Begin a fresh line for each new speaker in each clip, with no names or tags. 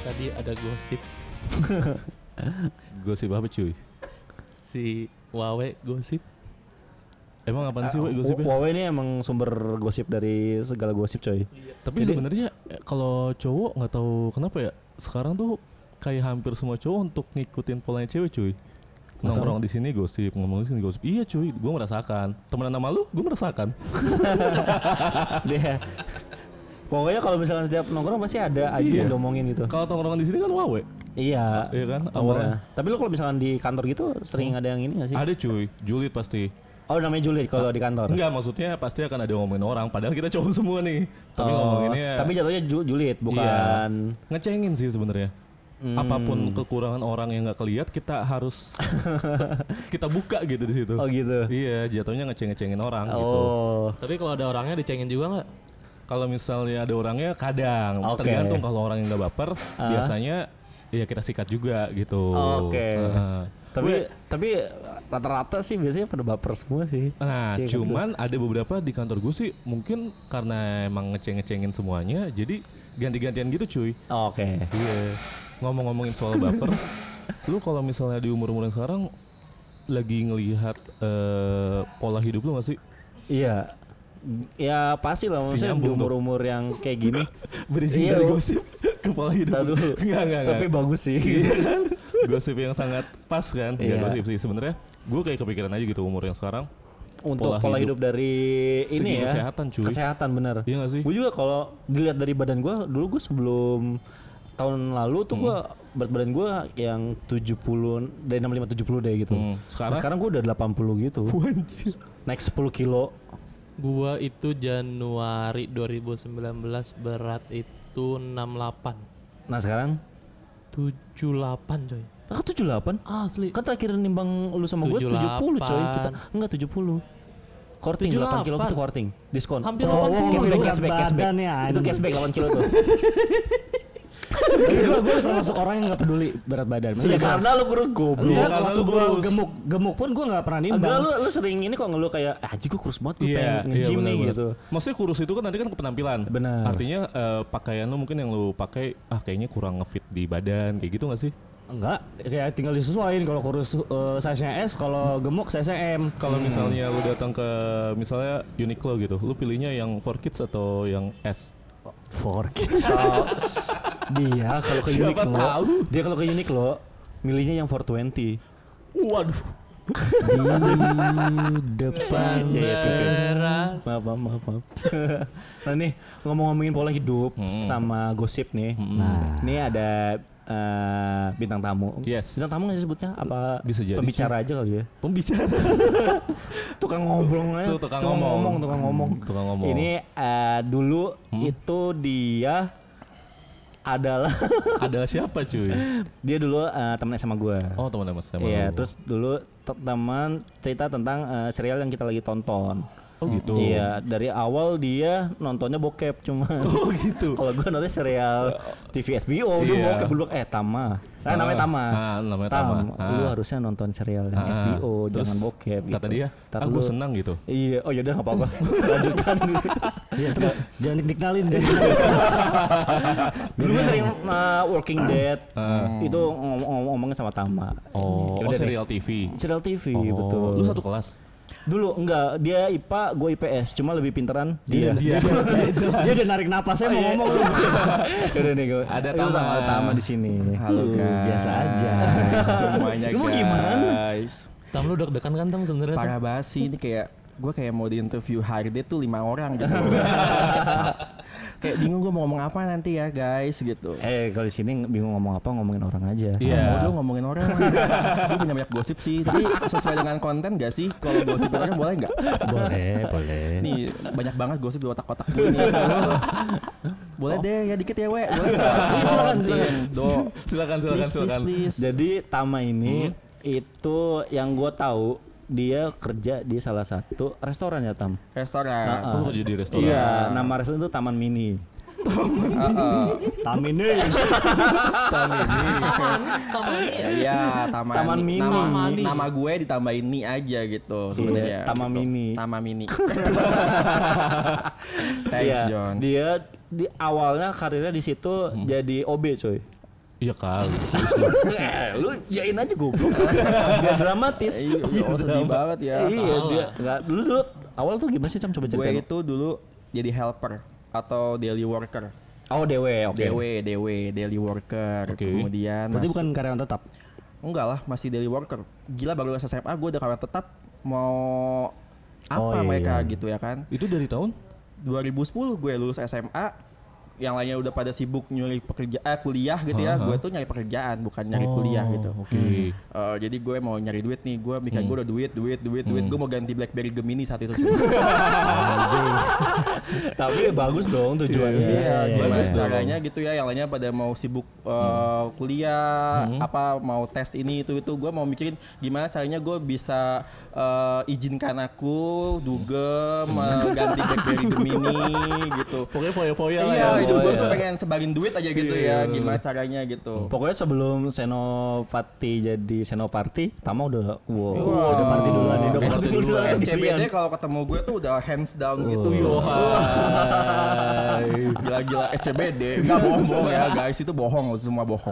tadi ada gosip
Gosip apa cuy?
si Wawe gosip.
Emang apaan sih gosipnya?
Wawe ini emang sumber gosip dari segala gosip coy.
Tapi sebenarnya kalau cowok nggak tahu kenapa ya sekarang tuh kayak hampir semua cowok untuk ngikutin polanya cewek cuy. Nongkrong di sini gosip, ngomong di sini gosip. Iya cuy, gue merasakan. Temenan sama lu, gue merasakan.
Dia pokoknya kalau misalnya setiap nongkrong pasti ada aja yang diomongin gitu.
Kalau tongkrongan di sini kan wawe.
Iya.
Iya kan?
Awalnya.
Awalnya.
Tapi lu kalau misalkan di kantor gitu sering ada yang ini gak sih?
Ada cuy, julid pasti.
Oh namanya julid kalau di kantor.
Enggak, maksudnya pasti akan ada ngomongin orang. Padahal kita cowok semua nih. Tapi ngomonginnya.
Tapi jatuhnya julid bukan.
Iya. Ngecengin sih sebenarnya. Apapun kekurangan orang yang nggak kelihat kita harus kita buka gitu di situ.
Oh gitu.
Iya, jatuhnya ngecengin orang gitu.
Oh.
Tapi kalau ada orangnya dicengin juga nggak?
Kalau misalnya ada orangnya kadang
Oke.
tergantung kalau orang yang nggak baper biasanya ya kita sikat juga gitu.
Oke.
Gue-
Tapi rata-rata sih biasanya pada baper semua sih.
Nah,
Sih,
cuman ada beberapa di kantor gue sih mungkin karena emang ngecengin semuanya, jadi ganti-gantian gitu cuy.
Oke.
Iya. Ngomong-ngomongin soal baper, lu kalau misalnya di umur-umur yang sekarang lagi ngelihat pola hidup lu gak sih?
Iya. Ya pasti lah maksudnya di
nyambung tuh.
umur-umur yang kayak gini.
Bridging
Iya,
dari
lu-
gosip ke pola hidup.
Ntar dulu.
Enggak.
Tapi bagus sih.
Iya kan? Gosip yang sangat pas kan? Enggak
Iya.
gosip sih sebenarnya. Gue kayak kepikiran aja gitu umur yang sekarang.
Untuk
Pola
pola
hidup.
hidup dari ini
Segi
ya.
kesehatan, cuy.
Kesehatan bener.
Iya gak sih?
Gue juga kalau dilihat dari badan gue, dulu gue sebelum tahun lalu tuh gue berat badan gue yang 70 dari 65 70 deh gitu.
Sekarang?
Nah, sekarang gue udah 80 gitu.
Anjir.
Naik 10 kilo.
Gua itu Januari 2019 berat itu 68.
Nah sekarang
78 coy.
kan 78.
Asli.
Kan terakhir nimbang lu sama gue 70 coy. Kita enggak 70. Korting 8 kilo
78.
gitu korting. Diskon.
Hampir
Oh,
80
cashback,
lu.
cashback,
Berat
cashback.
badan ya,
Itu
anjing.
cashback 8 kilo tuh.
Gue termasuk orang yang nggak peduli berat badan.
Iya karena lu kurus goblok.
Iya,
karena
waktu
lu
gue
kurus.
gemuk pun gue nggak pernah nimbang.
Enggak lu sering ini kok ngeluh kayak anjing gue kurus banget gue pengen nge-gym nih
bener-bener.
gitu.
Maksudnya kurus itu kan nanti kan ke penampilan.
Benar.
Artinya pakaian lu mungkin yang lu pakai kayaknya kurang ngefit di badan kayak gitu gak sih?
Enggak, kayak tinggal disesuaiin. Kalau kurus size-nya S, kalau gemuk size-nya M.
Kalau misalnya lu datang ke misalnya Uniqlo gitu, lu pilihnya yang 4Kids atau yang S?
For kids.
Dia kalau ke
Siapa
Uniqlo,
tahu?
dia kalau ke Uniqlo milihnya yang 420.
Waduh.
Di depan.
Iya, sih.
Beras.
Maaf. Nah nih ngomong-ngomongin pola hidup sama gosip nih. Nah, ini ada bintang tamu.
Yes.
Bintang tamu nggak sih sebutnya? Apa
Bisa jadi.
pembicara aja kali ya?
Pembicara.
Tukang ngobrol aja.
Tuh, tukang ngomong.
Tukang ngomong.
Tukang ngomong.
Ini dulu itu dia adalah
Ada siapa cuy?
dia dulu temen SMA gue.
Oh teman sama
Iya,
lu.
terus dulu teman cerita tentang serial yang kita lagi tonton.
Oh gitu.
Iya, dari awal dia nontonnya bokep cuma.
Oh gitu.
Kalau gue nontonnya serial TV SBO, dia
Iya.
bokep dulu Tama. Namanya Tama.
Namanya Tama.
Lu harusnya nonton serial yang SBO,
Terus
jangan bokep
kata
gitu.
dia,
Ntar
aku
lu-
senang gitu.
Iya, oh yaudah nggak apa-apa. Lanjutkan.
Iya terus jangan dikenalin deh.
Dulu gue sering Walking Dead. Itu ngomongnya sama Tama.
Oh,
Yaudah deh.
serial TV.
Serial TV,
Oh,
betul.
Lu satu kelas.
Dulu enggak, dia IPA, gue IPS, cuma lebih pinteran dia.
Dia.
Dia udah narik napasnya mau ngomong lu.
Udah nih gue.
Ada
Itu
Tama.
Tama di sini.
Halo guys.
biasa aja.
Semuanya
Lu mau gimana?
Guys,
Tam lu deg-degan kan Tam sebenarnya? Tam?
parah basi ini kayak gue kayak mau di interview HRD tuh 5 orang gitu. Kayak bingung gue mau ngomong apa nanti ya guys gitu.
Kalau di sini bingung ngomong apa, ngomongin orang aja.
Iya.
Mau dong ngomongin orang. Gue punya banyak gosip sih, tapi sesuai dengan konten gak sih? Kalau gosip orang boleh nggak?
Boleh.
Nih banyak banget gosip di otak-otak gue nih. Boleh deh ya dikit ya we. Boleh nggak?
Silakan,
Silakan. Do.
Silakan.
Please.
Jadi Tama ini itu yang gue tahu dia kerja di salah satu restoran ya Tam.
Restoran.
Lu kerja di restoran.
Iya, nama restoran itu Taman Mini.
Tamin deh.
Iya,
Taman Mini.
Nama gue ditambahin ni aja gitu sebenarnya.
Taman Mini.
Taman Mini. Thanks
Iya,
John.
dia di awalnya karirnya di situ jadi OB coy.
Iya kali.
Lu yain aja goblok. Biar dramatis.
Oh, sedih banget ya.
Iya, dia enggak dulu awal tuh gimana sih, Cam? Coba
Gue
ceritain.
itu dulu jadi helper atau daily worker.
Oh, DW, oke.
DW, daily worker.
Oke.
Kemudian
Berarti bukan karyawan tetap.
enggak lah, masih daily worker. Gila, baru lulus SMA gue udah karyawan tetap. Mau apa
Oh, iya.
mereka gitu ya kan?
Itu dari tahun?
2010 gue lulus SMA. Yang lainnya udah pada sibuk nyari kuliah gitu ya. Gue tuh nyari pekerjaan, bukan nyari kuliah gitu.
Oke.
Jadi gue mau nyari duit nih. Gue mikir gue udah duit. Gue mau ganti BlackBerry Gemini saat itu.
Tapi bagus dong tujuannya.
Iya, gimana
bagus dong.
caranya gitu ya. Yang lainnya pada mau sibuk kuliah, apa mau tes ini itu. Gue mau mikirin gimana caranya gue bisa izinkan aku dugem ganti BlackBerry Gemini gitu.
Pokoknya foya-foya lah
Iya,
ya.
itu gue
iya.
tuh pengen sebarin duit aja gitu ya. Gimana caranya gitu.
Pokoknya sebelum Senopati jadi Senoparty, Tama udah
Wah.
udah party duluan ya. Udah
SCBD
party duluan
SCBD kalau ketemu gue tuh udah hands down gitu. Gila-gila SCBD. Enggak bohong ya guys, itu bohong, semua bohong.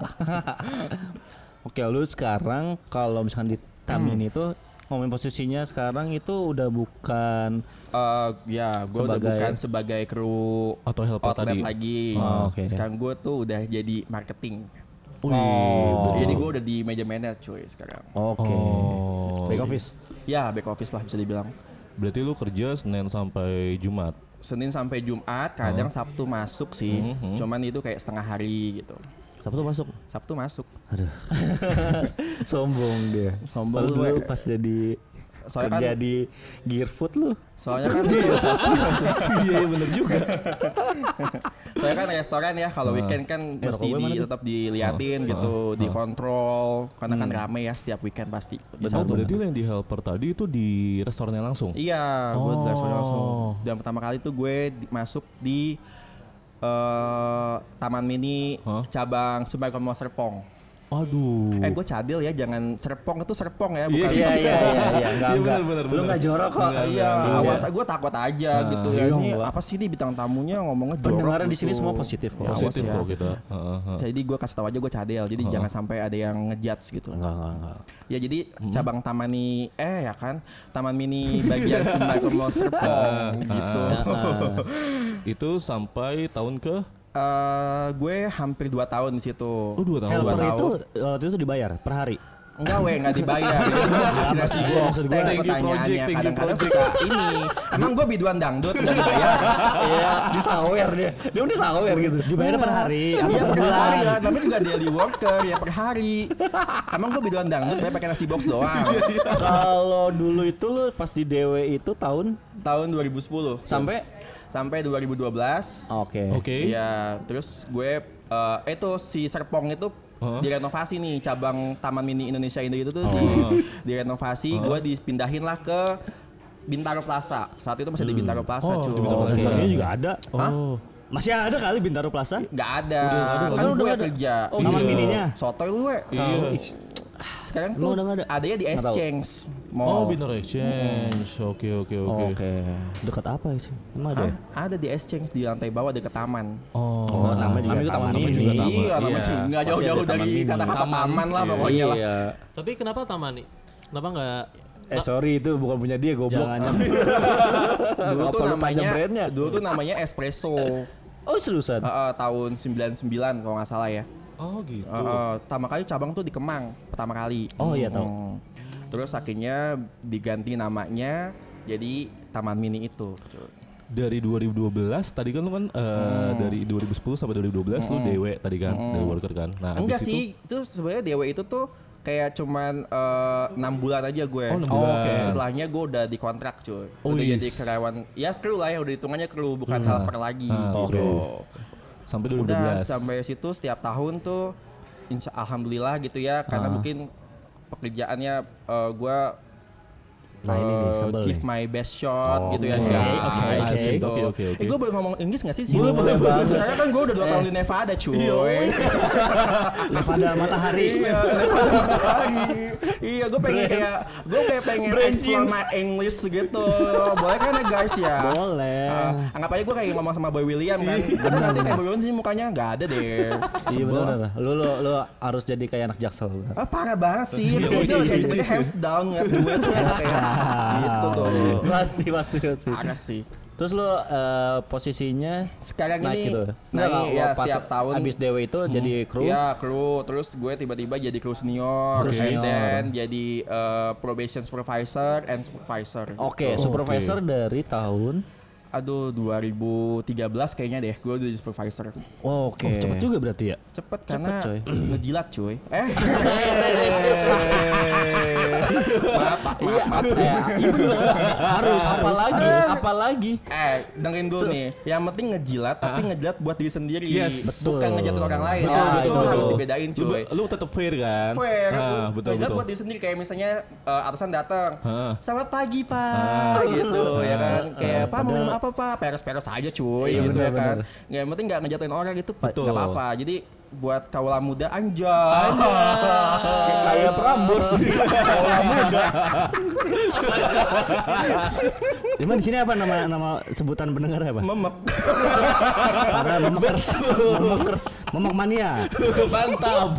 Oke, lu sekarang kalau misalkan di Tamin itu ngomongin posisinya sekarang itu udah bukan
Ya, gue udah
Sebagai-
bukan sebagai kru
Atau helper
outlet
tadi.
lagi.
Oh, oke.
Sekarang gue tuh udah jadi marketing.
Oh.
Jadi gue udah di meja manager cuy sekarang.
Oke.
Oh.
Back office.
Ya, back office lah bisa dibilang.
Berarti lu kerja Senin sampai Jumat.
Senin sampai Jumat, kadang Sabtu masuk sih. Cuman itu kayak setengah hari gitu.
Sabtu masuk.
Sabtu masuk.
Sombong dia.
Sombong
Lu
gue.
dulu pas jadi
Soalnya
kerja
kan-
di Gearfood lu.
Soalnya kan
Iya bener juga.
soalnya kan restoran ya kalau weekend kan mesti tetap diliatin gitu, dikontrol karena kan rame ya setiap weekend pasti. Di
Oh,
Sabtu.
berarti lu yang di helper tadi itu di restorannya langsung?
Iya, gue di restoran langsung. Dan pertama kali tuh gue masuk di Taman Mini cabang Sumbangkon Mall Serpong.
Aduh.
Gue cadel ya, jangan Serpong itu Serpong ya, bukan
Iya, enggak.
bener.
Lu enggak jorok kok.
Iya, awal gue takut aja gitu ya. Ini apa sih nih bintang tamunya ngomongnya jorok.
Pendengaran di sini
gitu.
semua positif kok.
Ya,
Positif
awas ya.
kok kita.
Jadi gue kasih tahu aja gue cadel, jadi jangan sampai ada yang ngejudge gitu.
Enggak.
Ya jadi cabang Taman Mini ya kan, Taman Mini bagian Sumbangkon Mall Serpong gitu.
Itu sampai tahun ke?
Gue hampir 2 tahun di situ.
Oh 2 tahun.
Helper
tahun.
itu waktu itu dibayar per hari.
Enggak nggak dibayar. Jadi gue kasih nasi box, thanks
Thank you,
pertanyaannya.
project, thank you,
Kadang-kadang suka ini. Emang gue biduan dangdut nggak dibayar?
Iya, disawer dia. Dia udah sawer gitu.
Dibayar per hari apa
Iya
per
per hari
bulan?
lah, tapi juga daily worker ya per hari. Emang gue biduan dangdut bayar pakai nasi box doang.
Kalau dulu itu lu pas di DW itu tahun
Tahun 2010 sampai 2012.
Oke.
Oke.
Ya, terus gue itu si Serpong itu direnovasi nih, cabang Taman Mini Indonesia Indah itu tuh direnovasi, gue dipindahin lah ke Bintaro Plaza. Saat itu masih di Bintaro Plaza, cuy.
di Bintaro
Dan
Plaza.
saat ini juga ada.
Oh.
Masih ada kali Bintaro Plaza.
Nggak ada.
Kan
Kan
udah
gue
ada.
kerja.
Oh, Taman Mininya.
Sotoy lu, we.
Iya.
Sekarang
Emang
tuh
udah nggak ada?
adanya di
Nggak tahu.
Exchange
Oh,
Mall.
Bintaro Exchange. Oke.
Oke.
Dekat apa sih? Emang ada?
Hah? Ada di Exchange di lantai bawah dekat taman.
Oh.
Nama juga
Namanya
taman
taman
ini.
juga taman.
Iya, namanya sih nggak
Pasti
jauh-jauh
ada taman
dari
mini.
kata-kata taman lah pokoknya lah.
Iya.
Tapi kenapa Taman nih? Kenapa nggak
Sorry itu bukan punya dia goblok.
Jangan
Dulu tuh
Apa lu tanya brandnya?
namanya Espresso.
Oh seriusan?
Tahun 99 kalau nggak salah ya.
Oh gitu.
Pertama kali cabang tuh di Kemang pertama kali.
Oh, iya, tahu.
Terus akhirnya diganti namanya jadi Taman Mini itu.
Dari 2012 tadi kan lu kan dari 2010 sampai 2012 lu DW tadi kan, dari worker kan. Nah,
Enggak
habis
sih, itu sebenarnya Dewa itu tuh kayak cuman 6 bulan aja gue.
Oh, 6 bulan.
Oke. Setelahnya gue udah dikontrak cuy. Udah
yes.
jadi karyawan. Ya kru lah ya, udah hitungannya kru bukan helper lagi gitu.
oke. Sampai 2012.
Udah sampai situ setiap tahun tuh alhamdulillah gitu ya, karena mungkin pekerjaannya gue
Nah, ini nih, sebel
give
nih.
my best shot gitu ya
Oke,
guys
oke,
gitu.
oke.
Gue boleh ngomong Inggris gak sih di sini?
Boleh banget.
Sekarang kan gue udah 2 tahun di Nevada cuy.
Nevada matahari.
Iya, Nevada matahari. Iya, gue pengen explore my English gitu. Boleh kan ya guys ya?
Boleh.
Anggap aja gue kayak ngomong sama Boy William kan. Ada nggak sih kayak Boy William sih mukanya nggak ada deh.
Iya
Sebel.
benar. Lu harus jadi kayak anak Jaksel.
Parah banget sih. Dia kayak cepetnya hands down ngeliat gue tuh kayak gitu tuh.
Pasti.
Parah sih.
Terus lu posisinya
Sekarang
naik
ini
gitu.
naik ya
pas
setiap tahun.
abis DW itu jadi kru.
Iya kru, terus gue tiba-tiba jadi kru senior,
Kru
and
senior.
then jadi probation supervisor and supervisor.
Oke, supervisor dari tahun.
Aduh 2013 kayaknya deh, gue udah jadi supervisor.
Oke.
Oh, cepet juga berarti ya?
Cepet karena
coy.
ngejilat cuy.
Maaf. Harus apalagi.
Dengerin dulu nih. Yang penting ngejilat tapi ngejilat buat diri sendiri.
Yes,
betul.
Bukan ngejilat orang lain.
Betul,
Ya, itu
betul.
harus dibedain cuy.
Lu tetap fair kan?
Fair,
Betul
ngejilat
betul.
buat diri sendiri kayak misalnya atasan datang.
Hah.
Selamat pagi pak, gitu ya kan. Kayak pak mau minum apa pak? Peres-peres aja cuy,
Iya,
gitu ya
benar,
kan.
benar.
Nggak, yang penting nggak ngejatuhin orang itu
Betul.
nggak apa-apa. Jadi buat kaula muda anjay.
Kayak Prambors. Kaula muda.
Cuman di sini apa nama sebutan pendengar apa?
Memek.
Para memekers. Memek mania.
Mantap.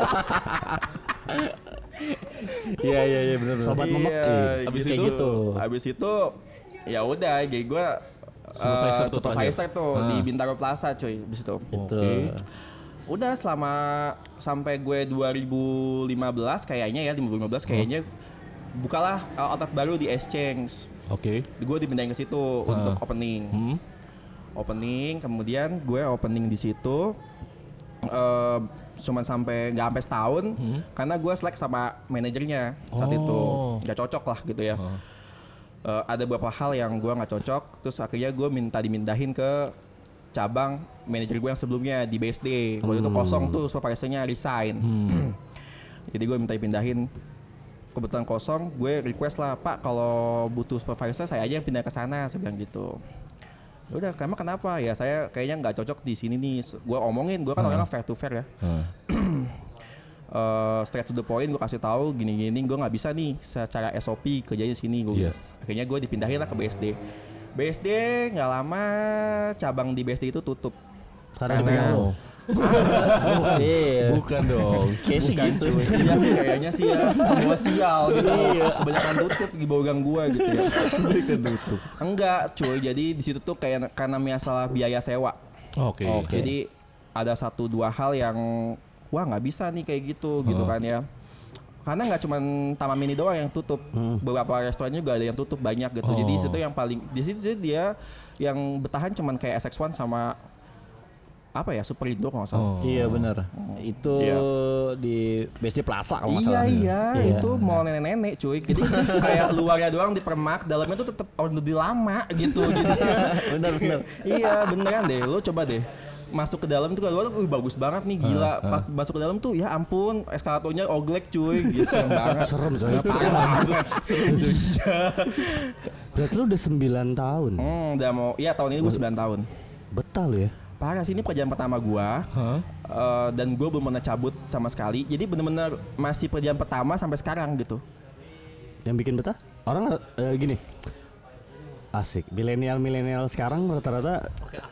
Iya benar.
Sobat memek.
Iya,
Abis
kayak
itu-
gitu. Abis itu ya udah, jadi gue supervisor tuh di Bintaro Plaza cuy. Abis itu.
Itu.
Udah selama sampai gue 2015 kayaknya ya 2015 kayaknya bukalah outlet baru di Exchange.
Oke.
Gue dipindahin ke situ untuk opening. Opening, kemudian gue opening di situ. Cuman nggak sampai setahun karena gue selek sama manajernya saat itu nggak cocok lah gitu ya. Ada beberapa hal yang gue nggak cocok, terus akhirnya gue dimindahin ke cabang manajer gue yang sebelumnya di BSD. Waktu itu kosong tuh, supervisornya resign. Jadi gue minta dipindahin, kebetulan kosong, gue request lah, Pak kalau butuh supervisor saya aja yang pindah ke sana, saya bilang gitu. Ya udah, emang kenapa? Ya saya kayaknya nggak cocok di sini nih. Gue omongin, gue kan orangnya fair to fair ya. Straight to the point, gue kasih tahu gini-gini, gue nggak bisa nih secara SOP kerjanya di sini.
Yes.
Akhirnya gue dipindahin lah ke BSD. BSD nggak lama cabang di BSD itu tutup.
Karena
Oh,
Iya.
bukan dong.
Kayak sih gitu.
Iya sih kayaknya sih ya. Gua sial gitu. Kebanyakan tutup di bawah gang gua gitu ya.
Bukan tutup.
Enggak cuy, jadi di situ tuh kayak karena masalah biaya sewa.
Oke.
Jadi ada 1-2 hal yang wah nggak bisa nih kayak gitu kan ya. Karena nggak cuma Taman Mini doang yang tutup, beberapa restoran juga ada yang tutup banyak gitu. Jadi di situ yang paling di situ dia yang bertahan cuman kayak SX1 sama apa ya, Superindo kalau nggak salah.
Iya benar. Itu
Iya.
di BSD Plaza kalau nggak
Iya
salah.
iya, itu mall nenek-nenek cuy. Jadi kayak luarnya doang dipermak, dalamnya tuh tetap order lama gitu.
Benar.
Iya beneran deh, lo coba deh masuk ke dalam tuh kalau tuh bagus banget nih, gila. Pas masuk ke dalam tuh ya ampun, eskalatornya oglek cuy, gitu serem banget.
serem coy.
Parah banget.
Berarti lu udah 9 tahun.
Udah mau, iya tahun ini gue 9 tahun.
Betah lu ya.
Parah sih, ini pekerjaan pertama gua. Dan gue belum pernah cabut sama sekali. Jadi bener-bener masih pekerjaan pertama sampai sekarang gitu.
Yang bikin betah? Orang gini. Asik. Milenial sekarang rata-rata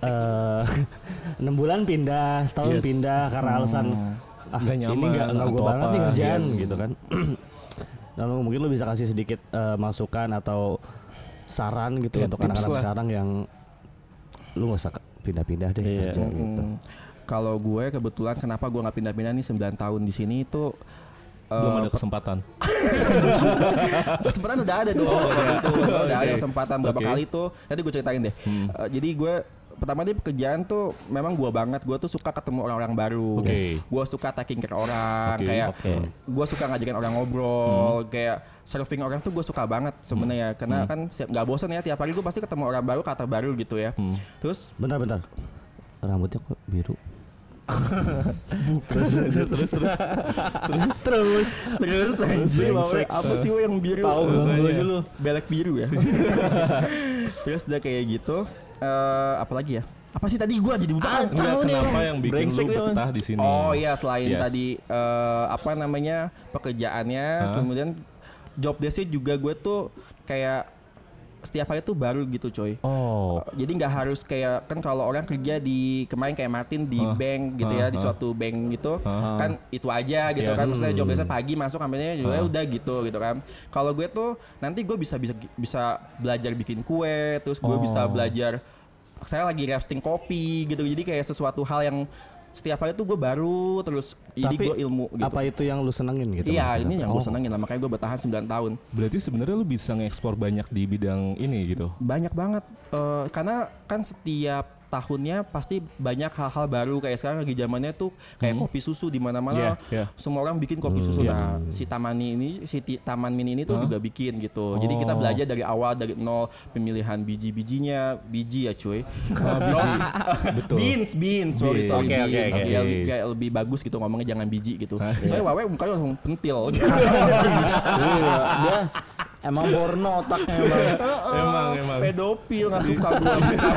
6 bulan pindah, setahun
Yes.
pindah karena alasan
Nggak
ini
nyaman
nggak
atau
gue banget
apa,
nih kerjaan
yes.
gitu kan. Lalu mungkin lu bisa kasih sedikit masukan atau saran gitu
Ya,
untuk
tips
anak-anak
lah.
sekarang yang lu nggak usah pindah-pindah deh kerja gitu.
Kalau gue kebetulan kenapa gue nggak pindah-pindah nih 9 tahun di sini itu
Belum ada kesempatan.
kesempatan udah ada dong. Waktu itu udah ada kesempatan berapa
Oke.
kali tuh. Nanti gue ceritain deh. Jadi gue pertama di pekerjaan tuh memang gue banget. Gue tuh suka ketemu orang-orang baru.
Oke.
Gue suka taking care orang.
Oke,
Kayak
oke.
gue suka ngajakin orang ngobrol. Kayak serving orang tuh gue suka banget sebenarnya. Karena kan nggak bosan ya, tiap hari gue pasti ketemu orang baru, kata baru gitu ya. Terus
Bentar. Rambutnya kok biru?
Terus anjir Wawe, apa sih Wawe yang biru?
Tahu ganggu aja lu.
Belek biru ya. Terus udah kayak gitu. Apalagi ya? Apa sih tadi gua jadi lupa?
Enggak, kenapa yang bikin
Brengsek
lu
lu.
betah di sini?
Oh iya, selain
Yes.
tadi apa namanya pekerjaannya,
Hah?
kemudian job desk-nya juga gue tuh kayak setiap hari tuh baru gitu coy.
Oh.
Jadi nggak harus kayak kan kalau orang kerja di kemarin kayak Martin di bank gitu ya, di suatu bank gitu kan itu aja gitu
Yes.
kan. Maksudnya job desk pagi masuk sampai juga udah gitu kan. Kalau gue tuh nanti gue bisa belajar bikin kue, terus gue bisa belajar. Saya lagi roasting kopi gitu, jadi kayak sesuatu hal yang setiap hari tuh gue baru terus jadi
Tapi
gue ilmu gitu.
apa itu yang lu senengin gitu?
Iya,
maksudnya?
ini yang gue senengin lah, makanya gue bertahan 9 tahun.
Berarti sebenarnya lu bisa ngekspor banyak di bidang ini gitu.
Banyak banget, karena kan setiap tahunnya pasti banyak hal-hal baru. Kayak sekarang lagi zamannya tuh kayak kopi susu di mana-mana.
Yeah.
Semua orang bikin kopi susu. Nah, si Taman Mini ini tuh juga bikin gitu. Jadi kita belajar dari awal, dari nol, pemilihan biji-bijinya, biji ya cuy.
Betul.
Beans, sorry,
Oke, oke,
beans.
oke.
Kayak lebih bagus gitu ngomongnya, jangan biji gitu. Soalnya Wawe mukanya langsung pentil.
Iya, dia emang porno otaknya emang.
Emang.
Pedofil, nggak suka gue.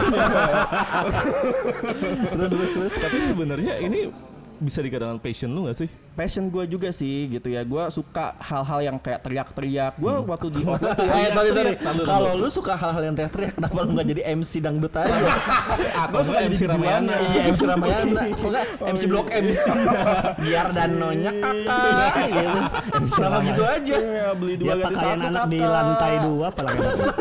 Terus.
Tapi sebenarnya ini bisa dikatakan passion lu gak sih?
Passion gue juga sih gitu ya. Gue suka hal-hal yang kayak teriak-teriak. Gue waktu di outlet tuh
Sorry. Kalau lu suka hal-hal yang teriak-teriak, kenapa lu nggak jadi MC dangdut aja?
gue suka
MC
jadi
Ramayana.
Iya, MC Ramayana. Kok nggak MC Blok M? Biar danonya kakak gitu. Kenapa gitu aja?
Ya, beli
Dia
dua ganti
pakaian
satu
anak di
kakak.
lantai 2 apalagi.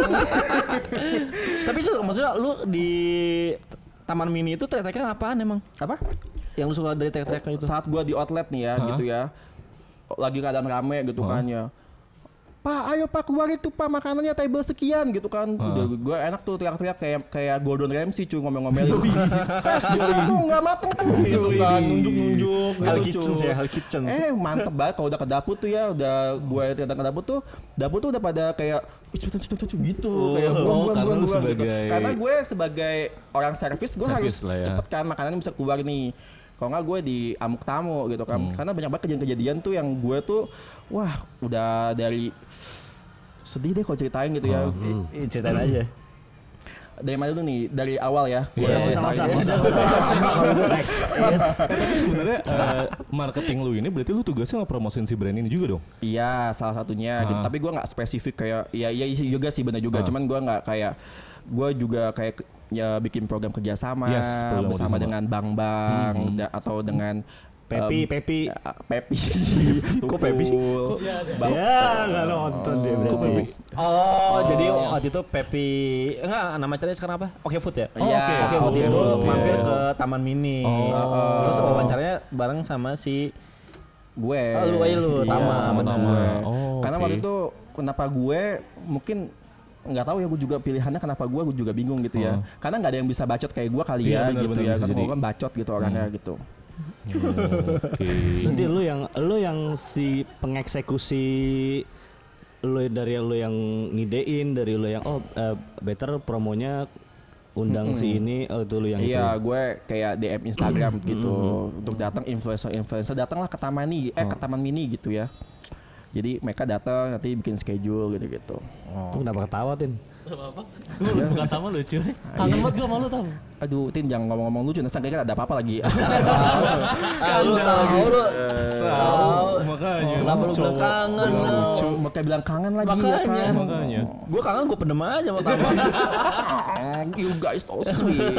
Tapi itu maksudnya lu di Taman Mini itu teriak-teriaknya apaan emang?
Apa?
Yang lu suka dari teriak-teriaknya itu?
Saat gue di outlet nih ya gitu ya, lagi keadaan rame gitu kan ya. Pak, ayo Pak keluar itu Pak, makanannya table sekian gitu kan. Udah gue enak tuh teriak-teriak kayak Gordon Ramsay cuy, ngomel-ngomelin. Kayak itu nggak mateng tuh gitu kan, nunjuk-nunjuk
Hell
gitu
Kitchen
cuy.
ya, Hell Kitchen.
Mantep banget kalau udah ke dapur tuh ya, udah gue datang ke dapur tuh udah pada kayak gitu, kayak buang
karena lu
gitu.
sebagai-
Karena gue sebagai orang servis gue harus
Servis lah ya.
cepet kan makanannya bisa keluar nih. Kalau nggak gue di amuk tamu gitu kan. Karena banyak banget kejadian-kejadian tuh yang gue tuh wah udah dari sedih deh kalau ceritain gitu ya.
Ceritain aja.
Dari mana dulu nih? Dari awal ya. Gua
Iya,
ceritain.
Tapi sebenarnya marketing lu ini berarti lu tugasnya ngepromosin si brand ini juga dong?
Iya, salah satunya gitu. Tapi gue nggak spesifik kayak iya juga sih benar juga. Cuman gue nggak kayak gue juga kayak ya bikin program kerjasama
Yes, program
bersama
kerjasama.
dengan bank-bank atau dengan
Pepi.
Pepi.
Kok Pepi sih?
Ya, enggak nonton dia
Kok
berarti.
Pepi?
Oh, jadi waktu itu Pepi enggak nama caranya sekarang apa? Oke Food ya?
Iya,
Oke Food
Oke
itu
Food,
mampir
iya.
ke Taman Mini. Terus wawancaranya bareng sama si
gue.
lu
Iya,
Tama.
sama
Tama.
gue.
Oh,
Karena
oke.
waktu itu kenapa gue mungkin nggak tahu ya, gue juga pilihannya kenapa gue juga bingung gitu ya. Karena nggak ada yang bisa bacot kayak gue kali
Iya,
ya
benar,
gitu
benar,
ya.
bisa
Kan
jadi.
gue kan bacot gitu orangnya gitu.
Oke.
Nanti lu yang si pengeksekusi dari lu yang ngidein, dari lu yang better promonya undang si ini, itu lu yang
Iya,
itu.
gue kayak DM Instagram gitu untuk datang influencer datanglah ke Taman Mini gitu ya. Jadi mereka datang nanti bikin schedule gitu-gitu.
Lu kenapa ketawa, Tin?
Apa-apa? Gue bukan Tama lucu. Kangen banget gue malu Tam.
Aduh, Tin jangan ngomong-ngomong lucu, nanti kira ada apa-apa lagi.
Lu tahu lu.
Makanya.
Kenapa lu bilang kangen?
Lucu, makanya bilang kangen lagi ya
Makanya.
kan.
Makanya.
Gua kangen gua pendem aja sama Tama.
You guys so sweet.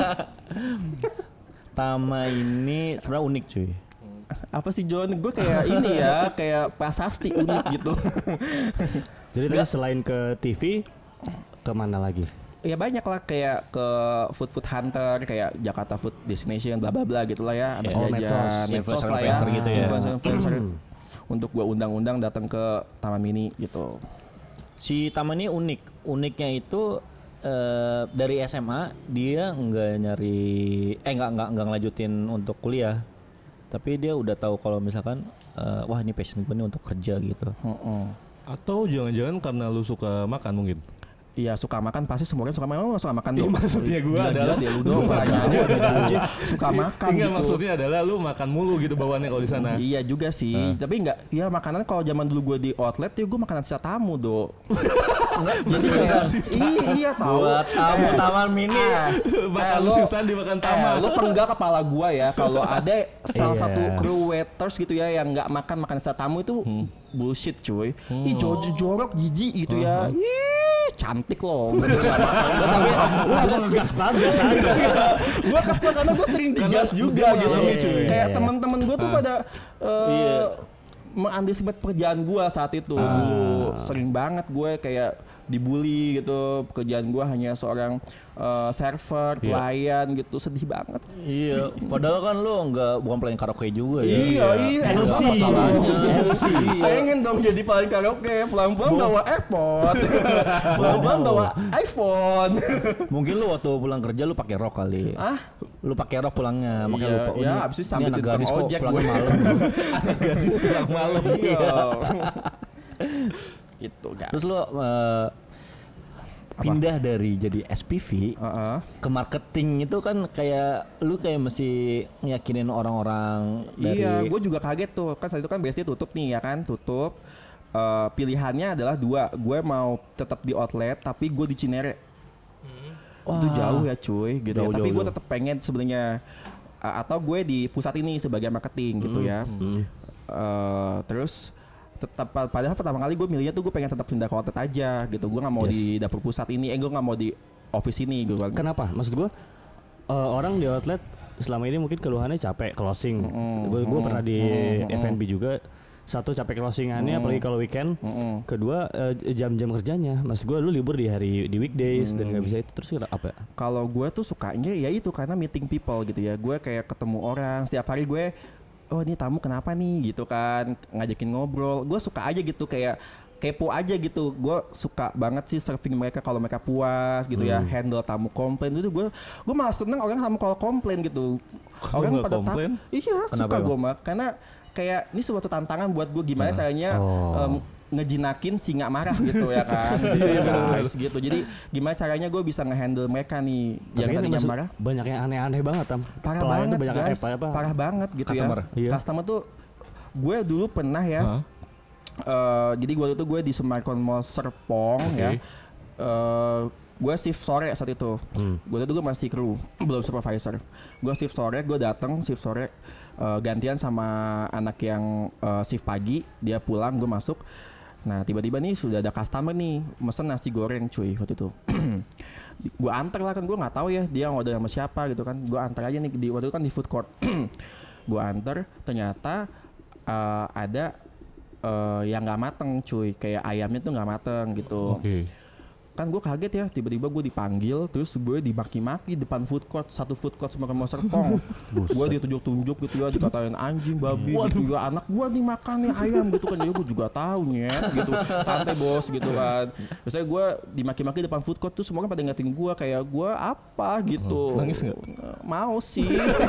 Tama ini sebenarnya unik cuy.
Apa sih John? Gue kayak ini ya, kayak prasasti unik gitu.
Jadi tadi selain ke TV, kemana lagi?
Ya banyak lah, kayak ke food hunter, kayak Jakarta Food Destination, bla bla bla gitulah ya. Abis
Oh,
jajan, medsos lah ya,
influencer gitu ya.
influencer untuk gue undang-undang datang ke Taman Mini gitu.
Si Tama ini unik. Uniknya itu dari SMA dia nggak ngelanjutin untuk kuliah. Tapi dia udah tahu kalau misalkan wah ini passion gue nih untuk kerja gitu.
Atau jangan-jangan karena lu suka makan mungkin?
Iya suka makan pasti semua orang suka makan. Lu gak suka makan dong?
Maksudnya gue adalah
dia lu dong pertanyaannya gitu. Suka makan
Enggak,
gitu.
maksudnya adalah lu makan mulu gitu bawaannya kalau di sana.
Iya juga sih, tapi enggak. Ya makanan kalau zaman dulu gue di outlet ya gue makanan sisa tamu do. Iya tahu.
Buat tamu taman mini.
Makan
lu-
sisaan dimakan taman.
Lo penggal kepala gua ya kalau ada salah
Iya.
satu crew waiters gitu ya yang nggak makan sisa tamu itu bullshit cuy. Ih jorok jijik gitu ya. Ih cantik loh.
Tapi lu apa ngegas banget biasa aja.
Gua kesel karena gua sering digas juga
dia
gitu.
mengalami, cuy.
Kayak
Iya.
teman-teman gua tuh pada
Iya.
mengantisipasi pekerjaan gua saat itu dulu sering banget gue kayak dibully gitu. Pekerjaan gua hanya seorang server, pelayan gitu, sedih banget.
Iya, padahal kan lu bukan pelayan karaoke juga ya.
Iya, enak
LC.
banget masalahnya.
LC.
Pengen dong jadi pelayan karaoke, pelan-pelan bawa AirPod, pelan-pelan bawa iPhone.
Mungkin lu waktu pulang kerja lu pakai rok kali.
Ah?
Lu pakai rok pulangnya, makanya
Iya,
lupa.
iya,
Ini-
abis itu
ini
sambil
anak
di tukang
gadis kok
ojek
pulangnya
gue.
malam.
Gadis pulang malam.
Iya. Gitu, guys.
Terus lu pindah dari jadi SPV ke marketing itu kan kayak lu kayak mesti ngeyakinin orang-orang dari
Iya, gue juga kaget tuh. Kan saat itu kan BSD tutup nih ya kan, tutup. Pilihannya adalah dua. Gue mau tetap di outlet, tapi gue di Cinere. Itu jauh ya cuy, gitu.
Jauh,
ya. Tapi
jauh,
gue
jauh.
tetap pengen sebenarnya. Atau gue di pusat ini sebagai marketing gitu ya. Terus tetap padahal pertama kali gue milihnya tuh gue pengen tetap pindah ke outlet aja gitu. Gue nggak mau di dapur pusat ini. Gue nggak mau di office ini gitu kan.
Kenapa? Maksud gue orang di outlet selama ini mungkin keluhannya capek closing. Gue pernah di F&B juga. Satu capek closingannya, apalagi kalau weekend. Kedua jam-jam kerjanya. Maksud gue lu libur di hari di weekdays dan nggak bisa itu terus apa?
Kalau gue tuh sukanya ya itu karena meeting people gitu ya. Gue kayak ketemu orang setiap hari gue. Oh ini tamu kenapa nih gitu kan, ngajakin ngobrol. Gue suka aja gitu kayak kepo aja gitu. Gue suka banget sih serving mereka kalau mereka puas gitu ya. Handle tamu komplain itu gue malah seneng orang tamu kalau komplain gitu. Orang
nggak
pada
komplain?
Iya
Kenapa
suka
emang?
gue mah karena kayak ini suatu tantangan buat gue gimana caranya ngejinakin singa marah gitu ya kan. Gitu ya guys gitu. Jadi gimana caranya gue bisa ngehandle mereka nih yang
Tapi kan
tadinya
maksud-
marah.
banyak yang aneh-aneh banget Tam.
Parah
Pelayan
banget
tuh banyak
guys,
apa?
parah banget gitu
Customer.
ya.
Iya.
Customer tuh gue dulu pernah ya. Jadi gue tuh gue di Semarkon Mall Serpong ya. Gue shift sore saat itu. Gue tuh masih kru, belum supervisor. Gue shift sore, gue datang shift sore gantian sama anak yang shift pagi. Dia pulang, gue masuk. Nah tiba-tiba nih sudah ada customer nih mesen nasi goreng cuy waktu itu. Gue antar lah kan, gue nggak tahu ya dia ngorder sama siapa gitu kan. Gue antar aja nih waktu itu kan di food court. Gue antar, ternyata ada yang nggak mateng cuy, kayak ayamnya tuh nggak mateng gitu. Kan gue kaget ya, tiba-tiba gue dipanggil, terus gue dimaki-maki depan food court, satu food court sama Mall Serpong. Gue ditunjuk-tunjuk gitu ya, dikatain anjing, babi gitu ya, anak gue nih makan nih ayam gitu kan. Ya gue juga tahu nyet gitu, santai bos gitu kan. Biasanya gue dimaki-maki depan food court tuh semua kan pada ngatain gue kayak gue apa gitu.
Nangis nggak?
Mau sih.